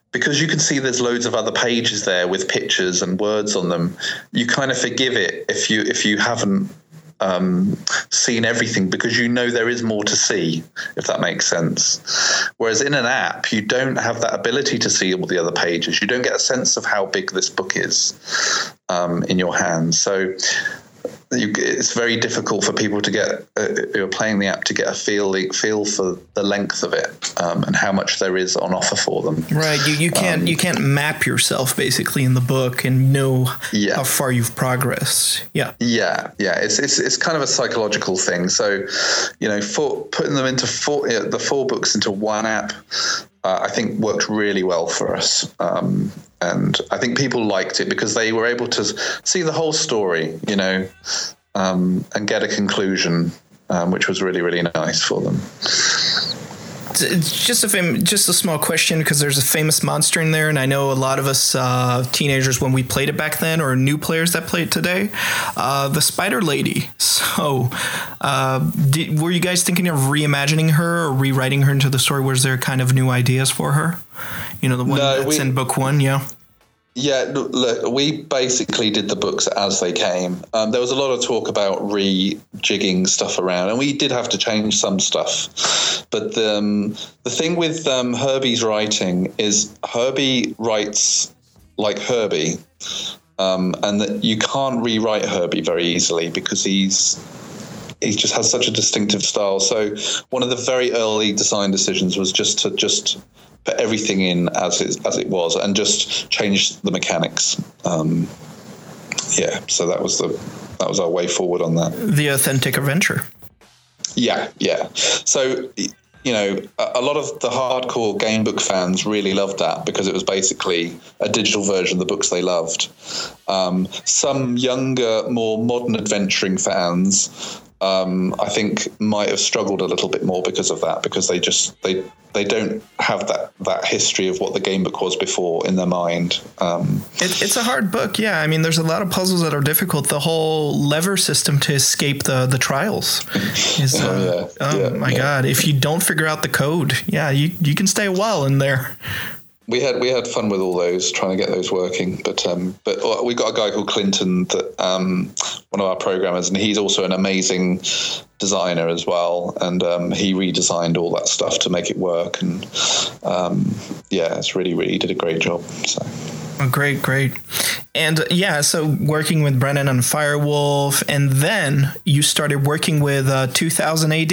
because you can see there's loads of other pages there with pictures and words on them, you kind of forgive it if you haven't seen everything, because you know there is more to see, if that makes sense. Whereas in an app, you don't have that ability to see all the other pages. You don't get a sense of how big this book is in your hands. So it's very difficult for people to get who are playing the app to get a feel for the length of it and how much there is on offer for them. Right, you can't map yourself basically in the book and know how far you've progressed. Yeah. It's kind of a psychological thing. So, putting them into the 4 books into one app, I think worked really well for us. And I think people liked it because they were able to see the whole story, and get a conclusion, which was really, really nice for them. It's just a small question, because there's a famous monster in there, and I know a lot of us teenagers, when we played it back then, or new players that play it today, the Spider Lady. So were you guys thinking of reimagining her or rewriting her into the story? Was there kind of new ideas for her? The one that's in book 1, yeah? Yeah, look, we basically did the books as they came. There was a lot of talk about rejigging stuff around, and we did have to change some stuff. But the thing with Herbie's writing is Herbie writes like Herbie, and that you can't rewrite Herbie very easily because he just has such a distinctive style. So one of the very early design decisions was just to put everything in as it was and just change the mechanics. So that was our way forward on that. The authentic adventure. Yeah. So, a lot of the hardcore game book fans really loved that because it was basically a digital version of the books they loved. Some younger, more modern adventuring fans, I think, might have struggled a little bit more because of that, because they don't have that history of what the game book was before in their mind. It's a hard book, yeah. I mean, there's a lot of puzzles that are difficult. The whole lever system to escape the trials is, my God, if you don't figure out the code, you can stay a while in there. We had fun with all those, trying to get those working. But we got a guy called Clinton, that one of our programmers, and he's also an amazing designer as well. And he redesigned all that stuff to make it work. And it's really did a great job. So. Oh, great. And so working with Brennan on Firewolf, and then you started working with 2000 AD.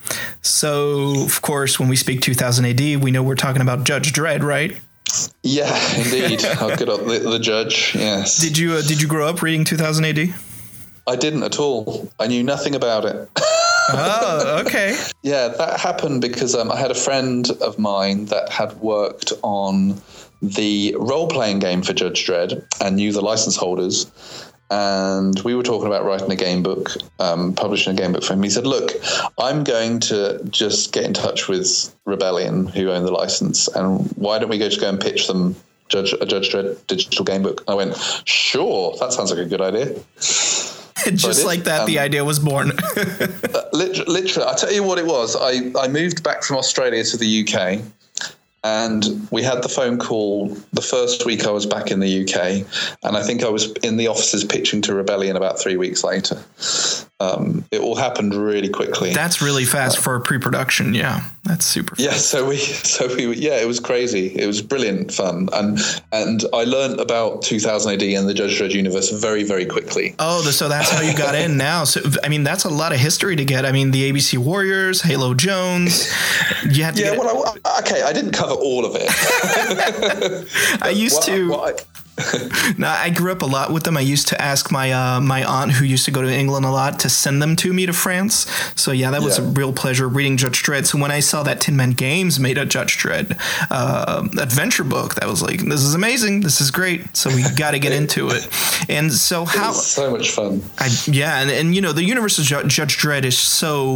So, of course, when we speak 2000 AD, we know we're talking about Judge Dredd, right? Yeah, indeed. I'll get up the Judge, yes. Did you grow up reading 2000 AD? I didn't at all. I knew nothing about it. Oh, okay. Yeah, that happened because I had a friend of mine that had worked on the role-playing game for Judge Dredd and knew the license holders. And we were talking about writing a game book, publishing a game book for him. He said, look, I'm going to just get in touch with Rebellion, who own the license, and why don't we go and pitch them a Judge Dredd digital game book? I went, sure, that sounds like a good idea. Just like that, the idea was born. Literally, I'll tell you what it was. I moved back from Australia to the UK, and we had the phone call the first week I was back in the UK, and I think I was in the offices pitching to Rebellion about 3 weeks later. It all happened really quickly. That's really fast for pre-production. Yeah, that's super fast. Yeah, so we it was crazy. It was brilliant fun, and I learned about 2000 AD and the Judge Dredd universe very, very quickly. Oh, so that's how you got in now. So I mean, that's a lot of history to get. I mean, the ABC Warriors, Halo Jones. You had to I didn't cover all of it. I used to. No, I grew up a lot with them. I used to ask my aunt, who used to go to England a lot, to send them to me to France. So that was a real pleasure reading Judge Dredd. So when I saw that Tin Man Games made a Judge Dredd adventure book, that was like, this is amazing. This is great. So we got to get into it. And so it was so much fun. And the universe of Judge Dredd is so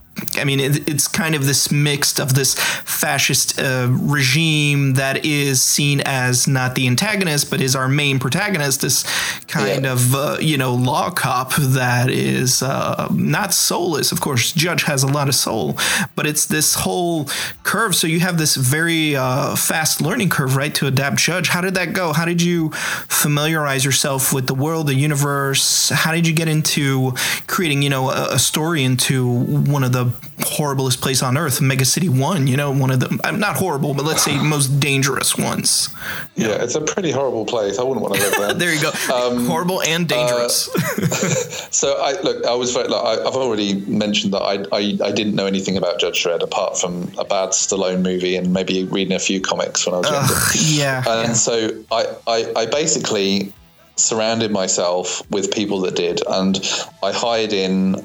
I mean, it's kind of this mixed of this fascist regime that is seen as not the antagonist, but is our main protagonist. This kind of, law cop that is not soulless. Of course, Judge has a lot of soul, but it's this whole curve. So you have this very fast learning curve, right, to adapt Judge. How did that go? How did you familiarize yourself with the world, the universe? How did you get into creating, a story into one of the horriblest place on earth, Mega City 1, one of the, not horrible, but let's say most dangerous ones. Yeah, it's a pretty horrible place. I wouldn't want to live there. There you go. Horrible and dangerous. So I've already mentioned that I didn't know anything about Judge Dredd apart from a bad Stallone movie and maybe reading a few comics when I was younger. So I basically surrounded myself with people that did, and I hired in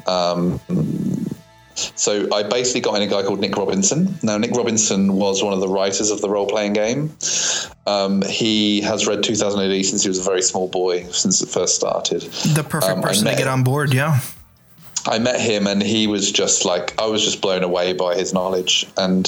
so I basically got in a guy called Nick Robinson. Now, Nick Robinson was one of the writers of the role-playing game. He has read 2000 AD since he was a very small boy, since it first started. The perfect person to get on board, yeah. I met him, and he was just like, I was just blown away by his knowledge. And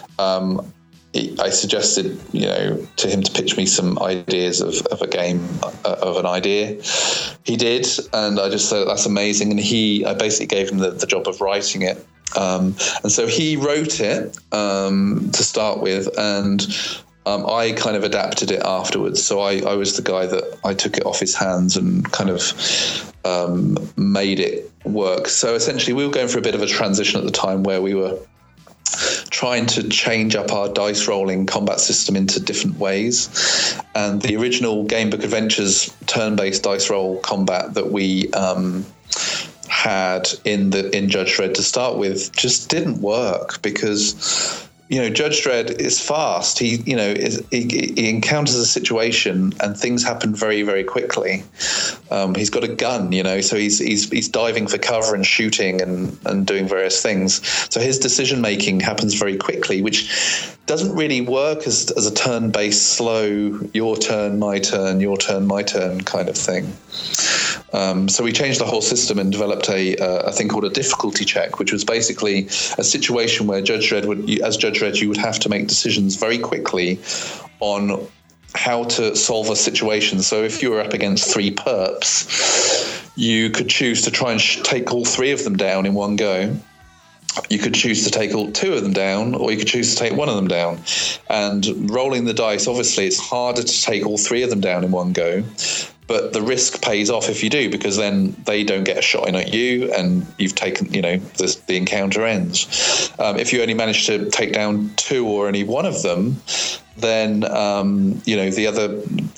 I suggested, to him to pitch me some ideas of a game, of an idea. He did, and I just said, that's amazing. And I basically gave him the job of writing it. And so he wrote it to start with, and I kind of adapted it afterwards. So I was the guy that I took it off his hands and kind of made it work. So essentially we were going through a bit of a transition at the time where we were trying to change up our dice rolling combat system into different ways. And the original Gamebook Adventures turn-based dice roll combat that we had in Judge Dredd to start with just didn't work because Judge Dredd is fast. He encounters a situation and things happen very, very quickly. He's got a gun, so he's diving for cover and shooting and doing various things. So his decision making happens very quickly, which doesn't really work as a turn-based slow, your turn, my turn, your turn, my turn kind of thing. So we changed the whole system and developed a thing called a difficulty check, which was basically a situation where Judge Dredd you would have to make decisions very quickly on how to solve a situation. So if you were up against 3 perps, you could choose to try and take all 3 of them down in one go. You could choose to take all 2 of them down, or you could choose to take 1 of them down. And rolling the dice, obviously, it's harder to take all 3 of them down in one go. But the risk pays off if you do, because then they don't get a shot in at you and you've taken, the encounter ends. If you only manage to take down 2 or only 1 of them, then, the other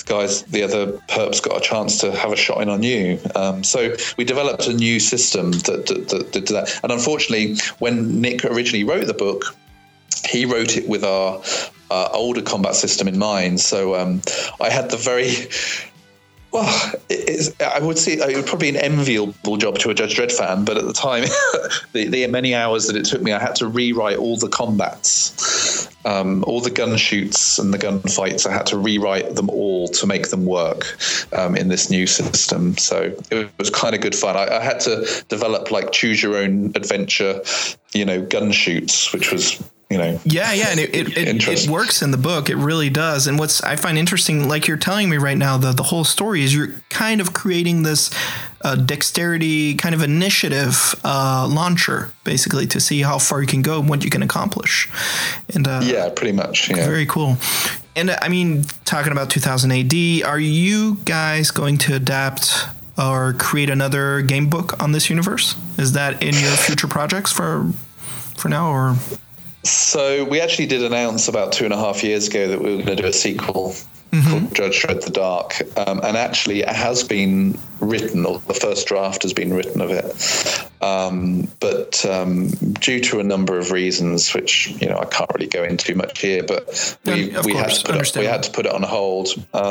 perps got a chance to have a shot in on you. So we developed a new system that did that. And unfortunately, when Nick originally wrote the book, he wrote it with our older combat system in mind. So I had the very... Well, I would say it would probably be an enviable job to a Judge Dredd fan, but at the time, the many hours that it took me, I had to rewrite all the combats, all the gun shoots and the gunfights. I had to rewrite them all to make them work in this new system. So it was kind of good fun. I had to develop choose your own adventure, gun shoots, which was... and it works in the book. It really does. And what's I find interesting, like you're telling me right now, the whole story is you're kind of creating this dexterity kind of initiative launcher, basically, to see how far you can go and what you can accomplish. And pretty much. Yeah. Very cool. And I mean, talking about 2000 AD, are you guys going to adapt or create another game book on this universe? Is that in your future projects for now, or? So we actually did announce about 2.5 years ago that we were going to do a sequel called Judge Dredd the Dark. And actually it has been written, or the first draft has been written of it. But due to a number of reasons, which, I can't really go into much here, but we had to put it on hold.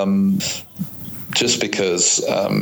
Just because,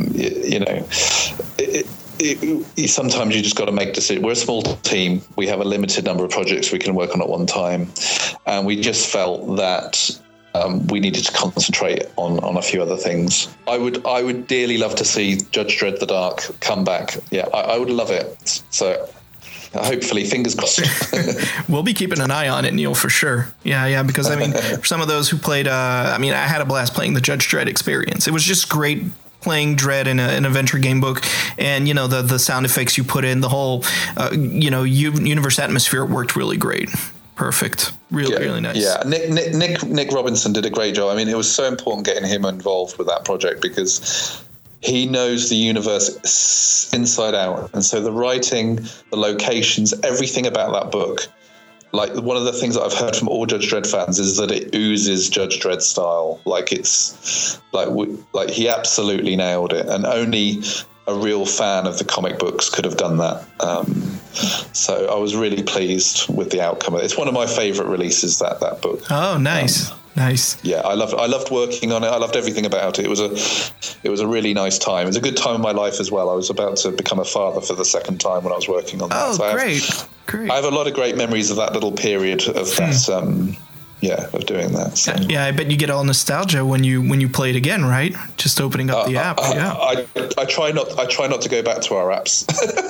sometimes you just got to make decisions. We're a small team. We have a limited number of projects we can work on at one time. And we just felt that we needed to concentrate on a few other things. I would dearly love to see Judge Dredd the Dark come back. Yeah, I would love it. So hopefully, fingers crossed. We'll be keeping an eye on it, Neil, for sure. Yeah, because I mean, for some of those who played, I had a blast playing the Judge Dredd experience. It was just great playing Dredd in an adventure game book, and the sound effects you put in, the whole universe atmosphere worked really great. Perfect. Really nice. Yeah, Nick Robinson did a great job. I mean, it was so important getting him involved with that project because he knows the universe inside out. And so the writing, the locations, everything about that book, like one of the things that I've heard from all Judge Dredd fans is that it oozes Judge Dredd style. Like it's like he absolutely nailed it. And only a real fan of the comic books could have done that. So I was really pleased with the outcome. It's one of my favorite releases, that book. Oh, nice. Nice. Yeah, I loved working on it. I loved everything about it. It was a really nice time. It was a good time in my life as well. I was about to become a father for the second time when I was working on that. Oh, so great. I have a lot of great memories of that little period of that. Of doing that. So. Yeah, I bet you get all nostalgia when you play it again, right? Just opening up the app. I try not to go back to our apps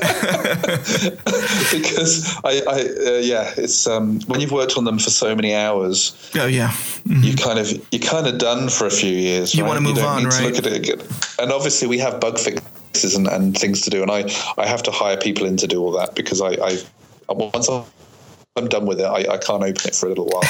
because it's when you've worked on them for so many hours. Oh yeah, mm-hmm. you're kind of done for a few years. You want to move on, right? To look at it again. And obviously we have bug fixes and things to do, and I have to hire people in to do all that because once I'm done with it, I can't open it for a little while.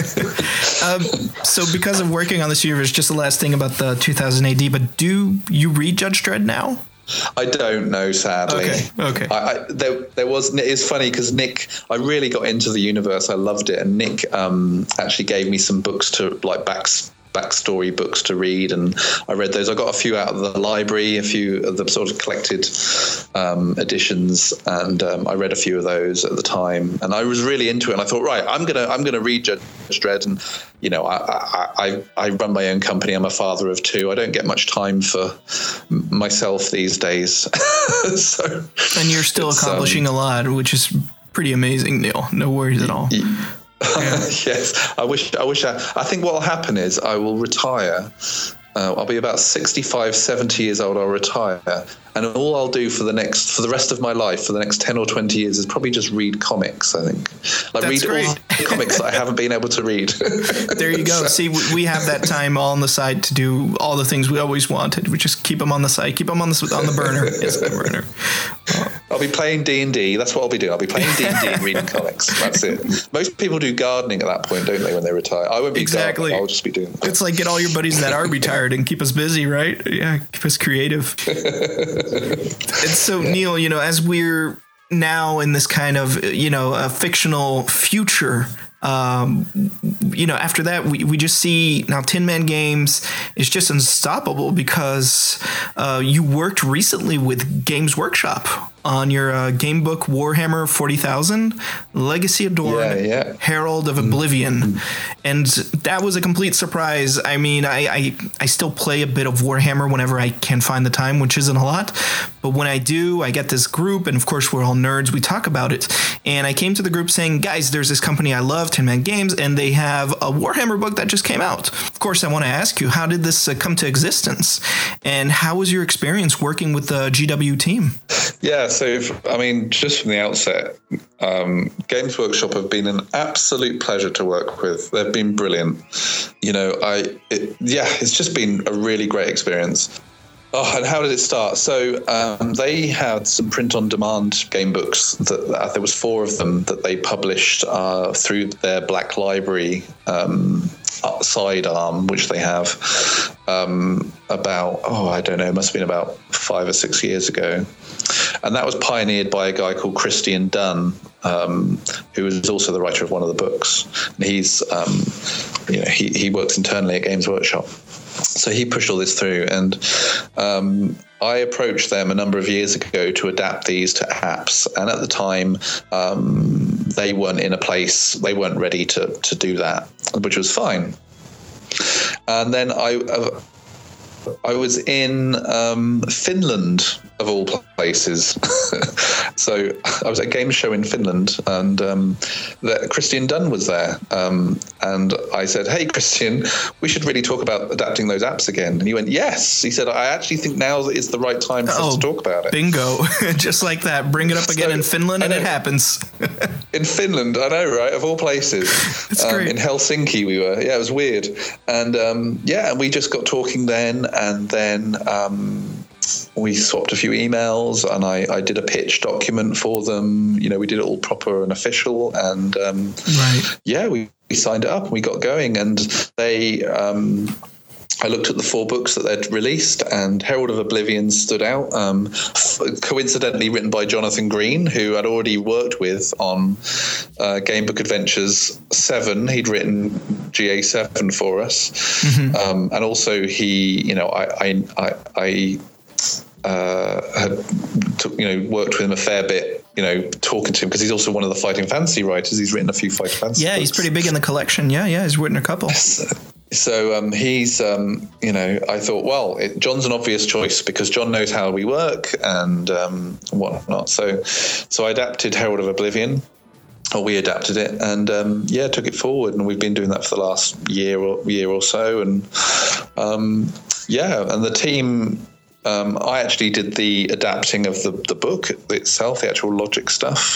So because of working on this universe, just the last thing about the 2000 AD, but do you read Judge Dredd now? I don't know, sadly. Okay. There was. It's funny because Nick, I really got into the universe. I loved it, and Nick actually gave me some books to backstory books to read, and I read those. I got a few out of the library, a few of the sort of collected editions, and I read a few of those at the time, and I was really into it. And I thought, right, I'm gonna read Judge Dredd, and I run my own company. I'm a father of two. I don't get much time for myself these days. And you're still accomplishing a lot, which is pretty amazing, Neil. No worries at all. Yeah. Yes, I think what will happen is I will retire. I'll be about 65, 70 years old. I'll retire, and all I'll do for the rest of my life, for the next 10 or 20 years, is probably just read comics. I think, read all the comics that I haven't been able to read. There you go. See, we have that time all on the side to do all the things we always wanted. We just keep them on the side, keep them on the burner. Yes, the burner. I'll be playing D&D. That's what I'll be doing. I'll be playing D&D and reading comics. That's it. Most people do gardening at that point, don't they, when they retire? I won't be gardening. I'll just be doing that. It's like get all your buddies that are retired and keep us busy, right? Yeah, keep us creative. And so, Neil, as we're now in this kind of, a fictional future, after that, we just see now Tin Man Games is just unstoppable because you worked recently with Games Workshop on your game book Warhammer 40,000, Legacy of Dorn, Herald of Oblivion. And that was a complete surprise. I mean, I still play a bit of Warhammer whenever I can find the time, which isn't a lot. But when I do, I get this group, and of course we're all nerds, we talk about it. And I came to the group saying, guys, there's this company I love, Tin Man Games, and they have a Warhammer book that just came out. Of course, I want to ask you, how did this come to existence? And how was your experience working with the GW team? Yeah, so, just from the outset, Games Workshop have been an absolute pleasure to work with. They've been brilliant. It's just been a really great experience. Oh, and how did it start? So they had some print-on-demand game books. There was 4 of them that they published through their Black Library sidearm, which they have it must have been about 5 or 6 years ago. And that was pioneered by a guy called Christian Dunn, who was also the writer of one of the books. And he's, he works internally at Games Workshop. So he pushed all this through, and I approached them a number of years ago to adapt these to apps. And at the time, they weren't in a place, they weren't ready to do that, which was fine. And then I was in Finland of all places. So I was at a game show in Finland, and Christian Dunn was there. And I said, "Hey, Christian, we should really talk about adapting those apps again." And he went, "Yes." He said, "I actually think now is the right time for us to talk about it." Bingo. Just like that. Bring it up again in Finland, and it happens. In Finland, I know, right? Of all places. That's great. In Helsinki we were. Yeah, it was weird. And and we just got talking then, and then we swapped a few emails, and I did a pitch document for them. You know, we did it all proper and official, and we signed it up and we got going. And they I looked at the 4 books that they'd released, and Herald of Oblivion stood out, coincidentally written by Jonathan Green, who I'd already worked with on Gamebook Adventures 7. He'd written GA7 for us. Mm-hmm. And also he, you know, I had worked with him a fair bit, you know, talking to him, because he's also one of the Fighting Fantasy writers. He's written a few Fighting Fantasy books. He's pretty big in the collection. Yeah, he's written a couple. So he's, I thought, well, John's an obvious choice because John knows how we work and whatnot. So I adapted Herald of Oblivion, or we adapted it, and took it forward, and we've been doing that for the last year or so, and and the team. I actually did the adapting of the book itself, the actual logic stuff.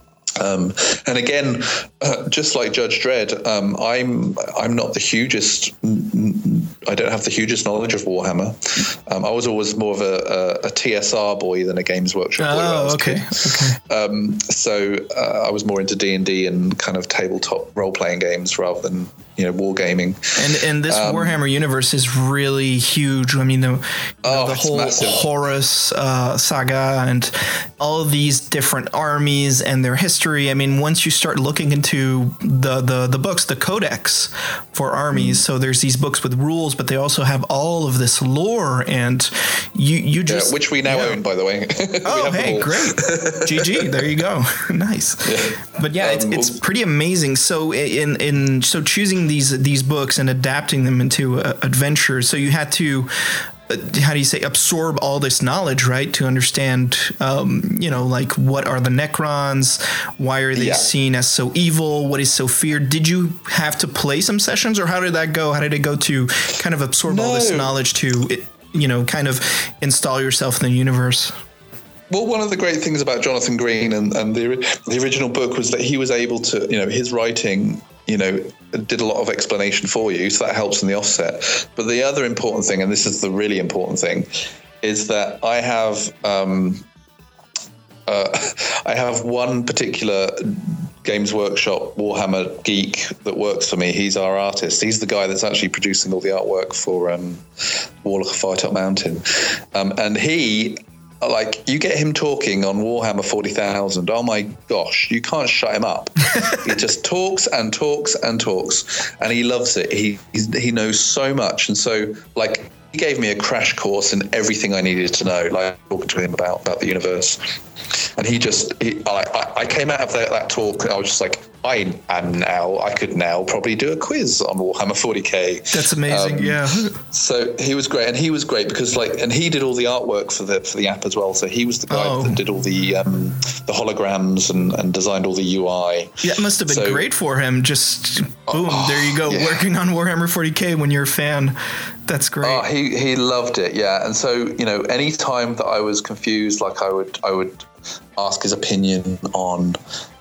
And again, just like Judge Dredd, I'm not the hugest. I don't have the hugest knowledge of Warhammer. I was always more of a TSR boy than a Games Workshop boy. Oh, okay. So I was more into D&D and kind of tabletop role-playing games rather than wargaming. And this Warhammer universe is really huge. I mean, the whole massive. Horus saga and all of these different armies and their history. I mean, once you start looking into the books, the codex for armies, so there's these books with rules, but they also have all of this lore, and you just which we now own, by the way. Oh, hey, great, GG, there you go, nice. Yeah. But it's pretty amazing. So so choosing these books and adapting them into adventures, so you had to absorb all this knowledge, right, to understand like what are the Necrons, why are they seen as so evil, what is so feared. Did you have to play some sessions, or how did that go? How did it go to kind of absorb all this knowledge to kind of install yourself in the universe? Well, one of the great things about Jonathan Green and the original book was that he was able to, his writing, did a lot of explanation for you, so that helps in the offset. But the other important thing, and this is the really important thing, is that I have one particular Games Workshop Warhammer geek that works for me. He's our artist. He's the guy that's actually producing all the artwork for Warlock of Firetop Mountain, and he. Like, you get him talking on Warhammer 40,000, oh my gosh, you can't shut him up. He just talks and talks and talks, and he loves it. He knows so much, and so, like, he gave me a crash course in everything I needed to know, like talking to him about the universe. And I came out of that talk, I was just like, I could now probably do a quiz on Warhammer 40k. That's amazing, yeah. So he was great, and he was great because and he did all the artwork for the app as well. So he was the guy that did all the holograms and designed all the UI. Yeah, it must have been great for him. Just boom, there you go, working on Warhammer 40k when you're a fan. That's great. Oh, he loved it, yeah. And so any time that I was confused, like I would ask his opinion on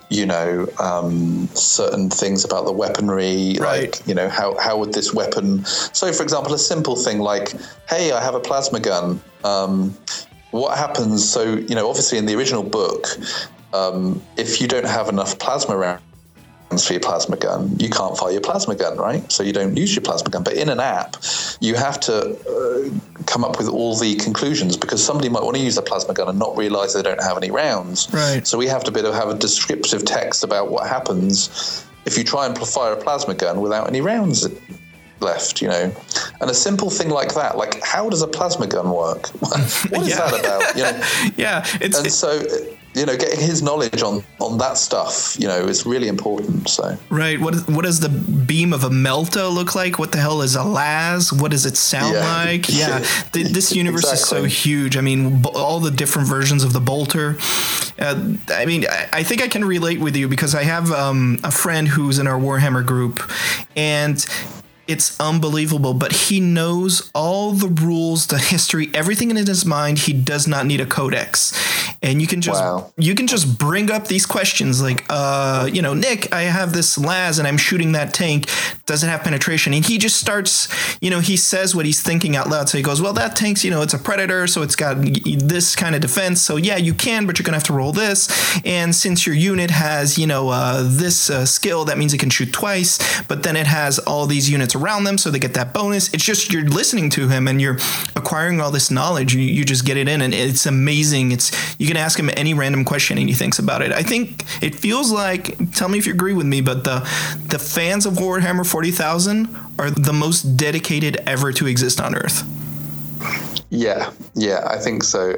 certain things about the weaponry, right. Like, how would this weapon... So, for example, a simple thing like, hey, I have a plasma gun. What happens? So, obviously in the original book, if you don't have enough plasma rounds for your plasma gun, you can't fire your plasma gun, right? So you don't use your plasma gun. But in an app, you have to come up with all the conclusions, because somebody might want to use the plasma gun and not realize they don't have any rounds. Right. So we have to have a descriptive text about what happens if you try and fire a plasma gun without any rounds left, you know. And a simple thing like that, like how does a plasma gun work? What is that about? You know? Yeah. So, you know, getting his knowledge on that stuff, you know, is really important. So right, what does the beam of a Melta look like? What the hell is a las? What does it sound like? Yeah, this universe exactly. is so huge. I mean, all the different versions of the bolter. I mean, I think I can relate with you because I have a friend who's in our Warhammer group, and it's unbelievable, but he knows all the rules, the history, everything in his mind. He does not need a codex. And you can just bring up these questions like, you know, Nick, I have this las and I'm shooting that tank. Does it have penetration? And he just starts, you know, he says what he's thinking out loud. So he goes, well, that tank's, you know, it's a Predator, so it's got this kind of defense. So yeah, you can, but you're going to have to roll this. And since your unit has, you know, this skill, that means it can shoot twice, but then it has all these units around them, so they get that bonus. It's just you're listening to him and you're acquiring all this knowledge. You just get it in, and it's amazing. You can ask him any random question and he thinks about it. I think it feels like, tell me if you agree with me, but the fans of Warhammer 40,000 are the most dedicated ever to exist on Earth. Yeah, I think so.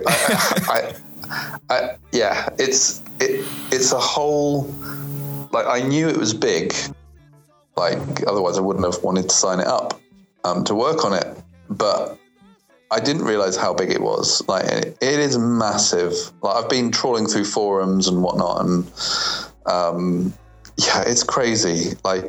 Yeah, it's a whole, like, I knew it was big. Like, otherwise I wouldn't have wanted to sign it up to work on it. But I didn't realize how big it was. Like, it is massive. Like, I've been trawling through forums and whatnot, and yeah, it's crazy. Like,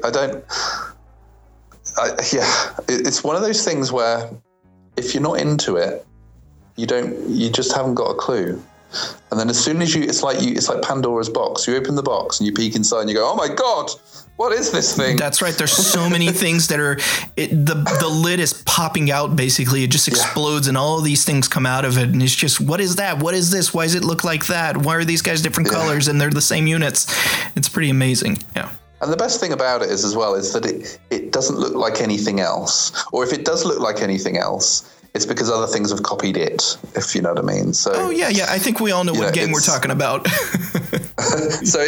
it's one of those things where if you're not into it, you just haven't got a clue. And then as soon as it's like Pandora's box. You open the box and you peek inside and you go, oh my God, what is this thing? That's right. There's so many things that are, the lid is popping out, basically. It just explodes and all of these things come out of it. And it's just, what is that? What is this? Why does it look like that? Why are these guys different colors and they're the same units? It's pretty amazing. Yeah. And the best thing about it is that it doesn't look like anything else. Or if it does look like anything else, it's because other things have copied it, if you know what I mean. So, oh yeah. I think we all know what game we're talking about. So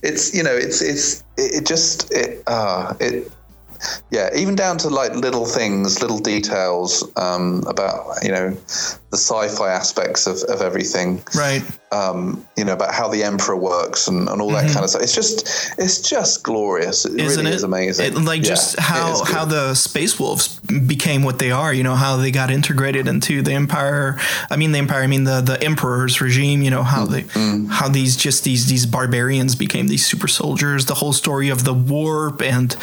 even down to like little things, little details about, you know, the sci-fi aspects of everything. Right. You know, about how the Emperor works and all that kind of stuff. It's just glorious. It Isn't really it? is amazing. Just how the Space Wolves became what they are, you know, how they got integrated into the Empire. The Emperor's regime, you know, how how these barbarians became these super soldiers, the whole story of the warp. And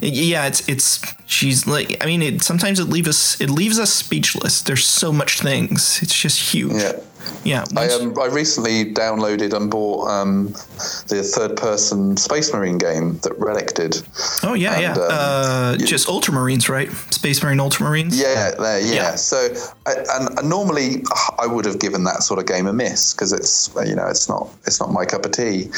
sometimes it leaves us speechless. There's so much things. It's just huge. Yeah. I recently downloaded and bought the third-person Space Marine game that Relic did. Oh yeah. Just Ultramarines, right? Space Marine Ultramarines. Yeah. So, and normally I would have given that sort of game a miss because it's not my cup of tea.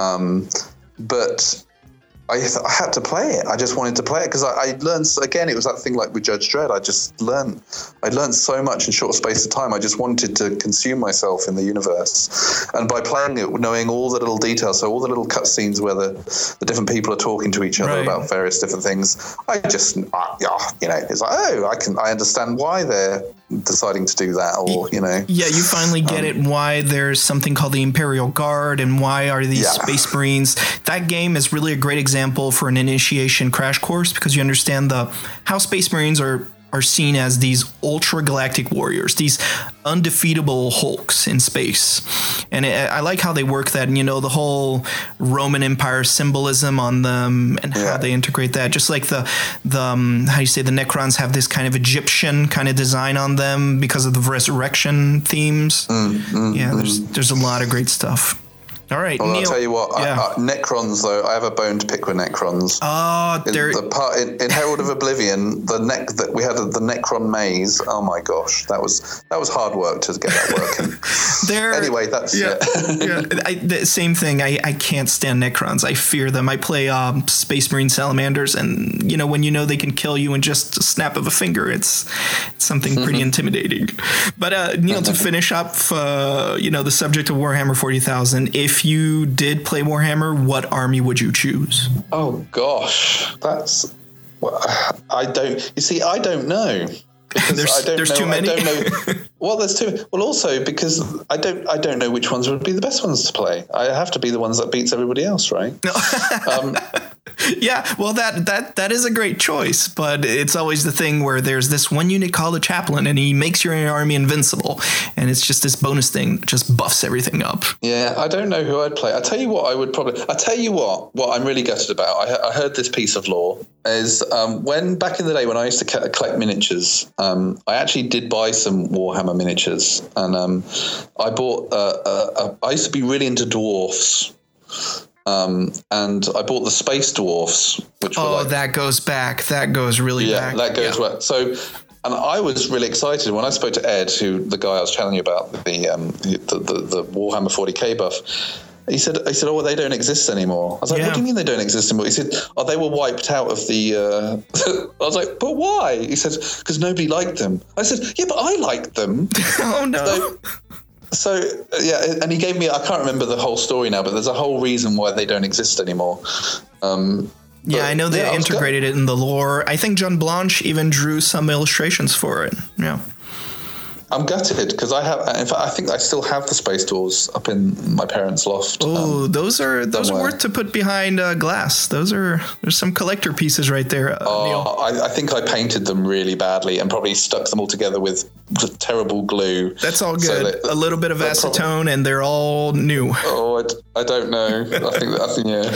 But I had to play it. I just wanted to play it because I learned, again, it was that thing like with Judge Dredd. I learned so much in short space of time. I just wanted to consume myself in the universe. And by playing it, knowing all the little details, so all the little cutscenes where the different people are talking to each other about various different things, I just, it's like, I understand why they're deciding to do that, or, you know. Yeah, you finally get it, why there's something called the Imperial Guard and why are these Space Marines. That game is really a great example for an initiation crash course because you understand how Space Marines are seen as these ultra galactic warriors, these undefeatable Hulks in space. And I like how they work that, and, you know, the whole Roman Empire symbolism on them and how they integrate that. Just like the Necrons have this kind of Egyptian kind of design on them because of the resurrection themes. There's a lot of great stuff. All right, well, Neil. I'll tell you what, Necrons, though, I have a bone to pick with Necrons. The part in Herald of Oblivion, the Necron maze. Oh my gosh, that was hard work to get that working. Anyway, that's the same thing. I can't stand Necrons. I fear them. I play Space Marine Salamanders, and you know, when you know they can kill you in just a snap of a finger, it's something pretty intimidating. But Neil, to finish up, the subject of Warhammer 40,000. If you did play Warhammer, what army would you choose? Oh gosh, that's Well, I don't. You see, I don't know. Because there's too many. I don't know. Well, there's too. Well, also because I don't know which ones would be the best ones to play. I have to be the ones that beats everybody else, right? No. Yeah, well, that is a great choice, but it's always the thing where there's this one unit called a chaplain, and he makes your army invincible, and it's just this bonus thing that just buffs everything up. Yeah, I don't know who I'd play. I tell you what, what I'm really gutted about. I heard this piece of lore is when back in the day when I used to collect miniatures, I actually did buy some Warhammer miniatures, and I bought. I used to be really into dwarfs. And I bought the Space Dwarfs, which were that goes back. That goes really back. Yeah, that goes well. So, and I was really excited when I spoke to Ed, who the guy I was telling you about, the Warhammer 40k buff. He said, oh, well, they don't exist anymore. I was like, what do you mean they don't exist anymore? He said, oh, they were wiped out of the... I was like, but why? He said, because nobody liked them. I said, yeah, but I liked them. Oh, no. So, yeah, and he gave me, I can't remember the whole story now, but there's a whole reason why they don't exist anymore. Yeah, I know they integrated it in the lore. I think John Blanche even drew some illustrations for it. Yeah. I'm gutted because I have. In fact, I think I still have the Space Doors up in my parents' loft. Oh, those are worth to put behind glass. There's some collector pieces right there. Neil. I think I painted them really badly and probably stuck them all together with terrible glue. That's all good. A little bit of acetone, and they're all new. Oh, I don't know. I think yeah.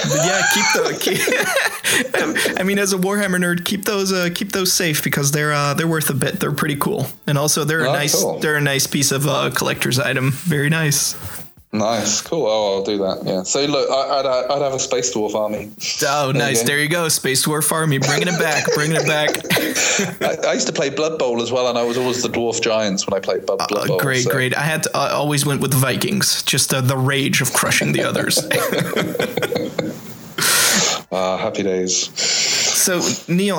I mean, as a Warhammer nerd, keep those safe because they're worth a bit. They're pretty cool, and also they're a nice piece of collector's item. Very nice. Nice, cool. Oh, I'll do that. Yeah. So look, I'd have a Space Dwarf army. Oh, nice. There you go. Space Dwarf army. Bringing it back. I used to play Blood Bowl as well, and I was always the Dwarf Giants when I played Blood Bowl. Great. I had to, always went with the Vikings. Just the rage of crushing the others. Happy days. So Neil,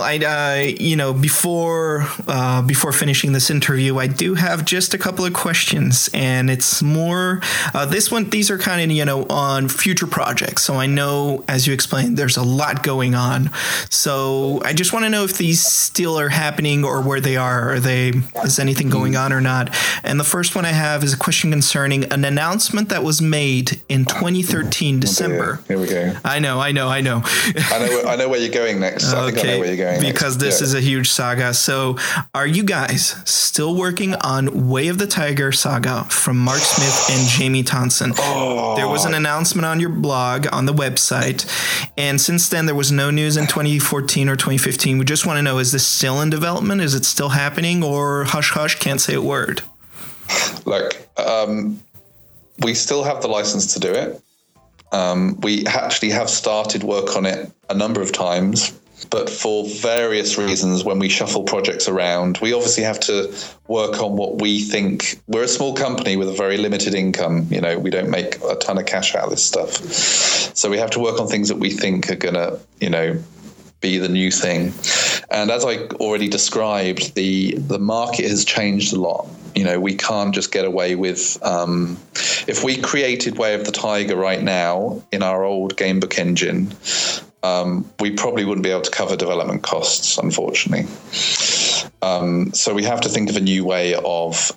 before finishing this interview, I do have just a couple of questions, and it's more these are kind of on future projects. So I know, as you explained, there's a lot going on. So I just want to know if these still are happening or where they are. Is anything going on or not? And the first one I have is a question concerning an announcement that was made in 2013 December. Here we go. I know. I know where you're going next. I think I know where you're going because this is a huge saga. So are you guys still working on Way of the Tiger saga from Mark Smith and Jamie Thompson? There was an announcement on your blog on the website, and since then there was no news in 2014 or 2015. We just want to know, is this still in development? Is it still happening, or hush hush, can't say a word? Look, we still have the license to do it. We actually have started work on it a number of times, but for various reasons, when we shuffle projects around, we obviously have to work on what we think. We're a small company with a very limited income. We don't make a ton of cash out of this stuff. So we have to work on things that we think are going to, be the new thing. And as I already described, the market has changed a lot. We can't just get away with, if we created Way of the Tiger right now in our old gamebook engine, we probably wouldn't be able to cover development costs, unfortunately. So we have to think of a new way of,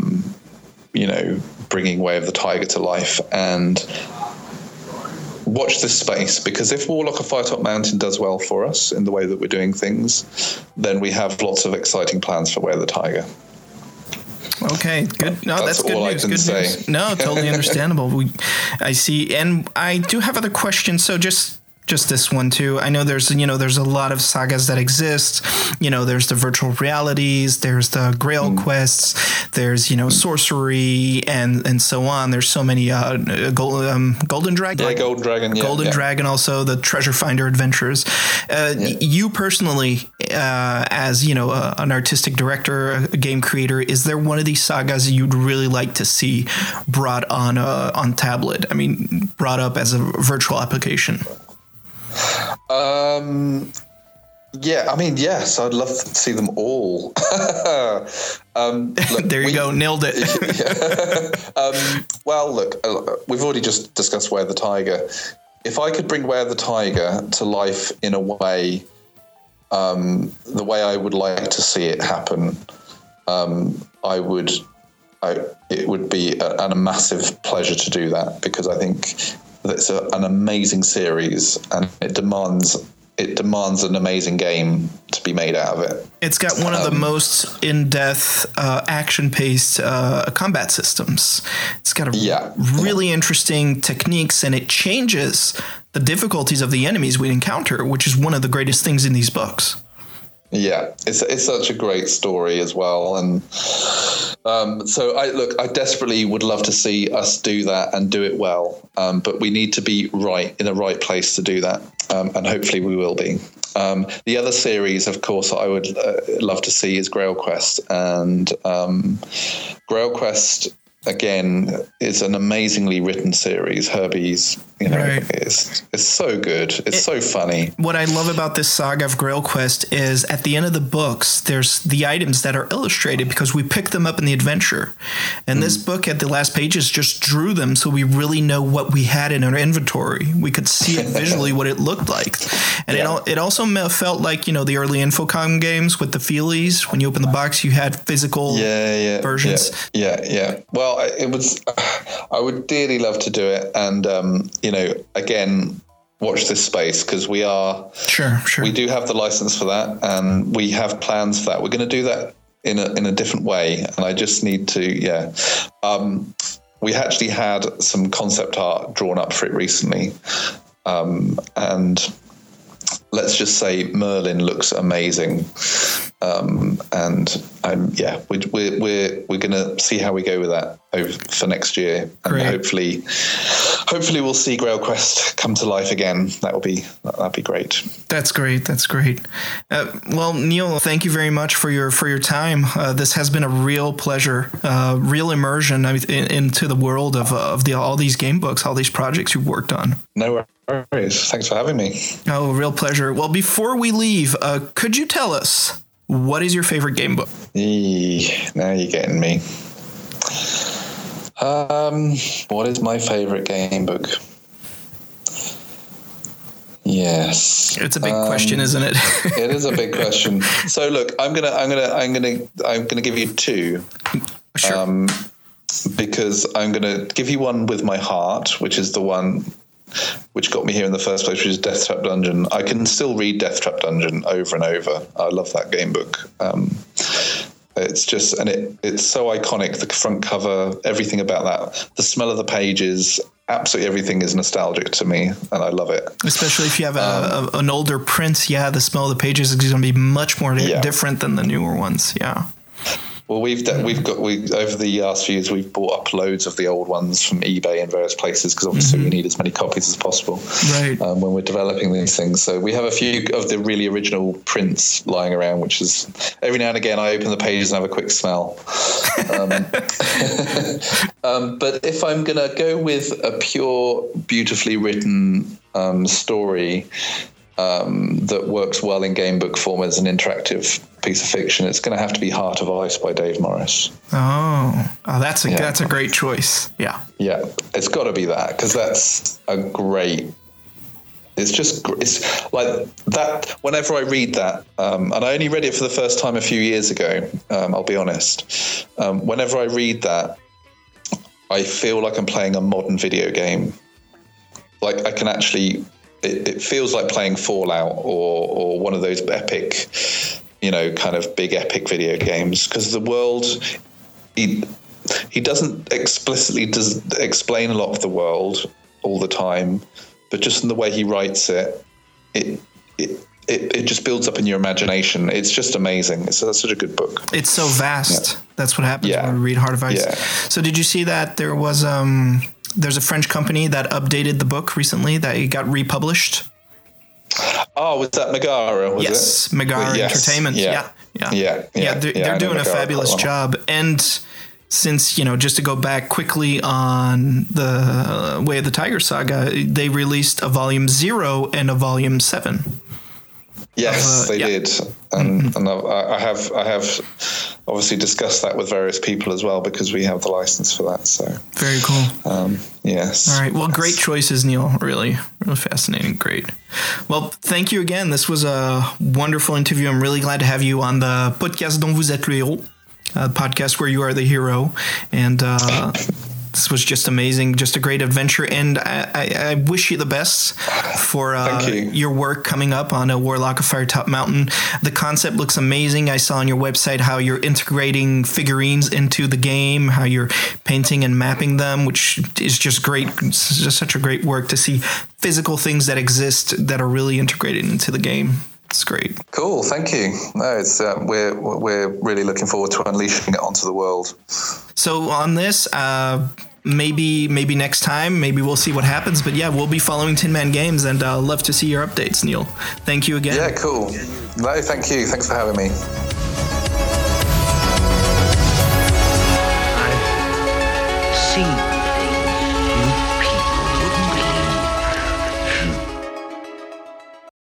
bringing Way of the Tiger to life, and watch this space, because if Warlock of Firetop Mountain does well for us in the way that we're doing things, then we have lots of exciting plans for Way of the Tiger. Okay, good. No, that's good news. Good news. No, totally understandable. I see, and I do have other questions. So just this one too. I know there's a lot of sagas that exist. There's the virtual realities, there's the Grail quests, there's sorcery and so on. There's so many Golden Dragon. Yeah, Golden Dragon. Yeah, Golden Dragon. Also the Treasure Finder Adventures. You personally, as an artistic director, a game creator, is there one of these sagas you'd really like to see brought on tablet? I mean, brought up as a virtual application. Yes, I'd love to see them all. Look, there you go, nailed it. Well, look, we've already just discussed Way of the Tiger. If I could bring Way of the Tiger to life in a way the way I would like to see it happen, it would be a massive pleasure to do that, because I think it's an amazing series, and it demands an amazing game to be made out of it. It's got one of the most in-depth, action-paced combat systems. It's got really interesting techniques, and it changes the difficulties of the enemies we encounter, which is one of the greatest things in these books. Yeah, it's such a great story as well, and so I desperately would love to see us do that and do it well, but we need to be in the right place to do that, and hopefully we will be. The other series, of course, I would love to see is Grail Quest, and Grail Quest again is an amazingly written series. Herbie's, it's so good. It's so funny. What I love about this saga of Grail Quest is at the end of the books, there's the items that are illustrated because we pick them up in the adventure. And this book at the last pages just drew them, so we really know what we had in our inventory. We could see it visually what it looked like. And it also felt like, the early Infocom games with the feelies. When you open the box, you had physical versions. Yeah. Well, it was. I would dearly love to do it, and again, watch this space, because we are sure. We do have the license for that, and we have plans for that. We're going to do that in a different way, and I just need to. We actually had some concept art drawn up for it recently, and let's just say Merlin looks amazing. We're going to see how we go with that for next year, and hopefully we'll see Grail Quest come to life again. That'd be great. That's great. Well, Neil, thank you very much for your time. This has been a real pleasure, real immersion into the world of all these game books, all these projects you've worked on. No worries. Thanks for having me. Oh, real pleasure. Well, before we leave, could you tell us, what is your favorite game book? Now you're getting me. What is my favorite game book? Yes, it's a big question, isn't it? It is a big question. So look, I'm gonna give you two. Sure. Because I'm gonna give you one with my heart, which is the one which got me here in the first place, which is Death Trap Dungeon. I can still read Death Trap Dungeon over and over. I love that game book. It's just, and it's so iconic. The front cover, everything about that, the smell of the pages, absolutely everything is nostalgic to me, and I love it. Especially if you have an older print, the smell of the pages is going to be much more different than the newer ones. Yeah. Well, we've over the last few years, we've bought up loads of the old ones from eBay and various places, because obviously we need as many copies as possible when we're developing these things. So we have a few of the really original prints lying around, which is every now and again I open the pages and have a quick smell. But if I'm going to go with a pure, beautifully written story that works well in game book form as an interactive piece of fiction, it's going to have to be Heart of Ice by Dave Morris. That's a great choice. Yeah, it's got to be that, because that's a great. It's like that. Whenever I read that, and I only read it for the first time a few years ago, I'll be honest. Whenever I read that, I feel like I'm playing a modern video game. Like I can actually. It feels like playing Fallout or one of those epic, kind of big epic video games, because the world, he doesn't explicitly explain a lot of the world all the time, but just in the way he writes it just builds up in your imagination. It's just amazing. That's such a good book. It's so vast. Yeah. That's what happens when we read Heart of Ice. Yeah. So did you see that there was there's a French company that updated the book recently, that it got republished? Oh, was that Megara? Yes, Megara Entertainment. Yeah. They're doing a fabulous job. And since, just to go back quickly on the Way of the Tiger saga, they released a volume 0 and a volume 7. Yes, they did, and I have obviously discussed that with various people as well because we have the license for that. So very cool. Yes. All right. Well, great choices, Neil. Really fascinating. Great. Well, thank you again. This was a wonderful interview. I'm really glad to have you on the podcast dont vous êtes le héros, podcast where you are the hero, and. This was just amazing, just a great adventure, and I wish you the best for your work coming up on a Warlock of Firetop Mountain. The concept looks amazing. I saw on your website how you're integrating figurines into the game, how you're painting and mapping them, which is just great. It's just such a great work to see physical things that exist that are really integrated into the game. It's great. Cool, thank you. No, it's we're really looking forward to unleashing it onto the world. So on this, maybe next time, maybe we'll see what happens. But yeah, we'll be following Tin Man Games, and I'll love to see your updates, Neil. Thank you again. Yeah, cool. No, thank you. Thanks for having me.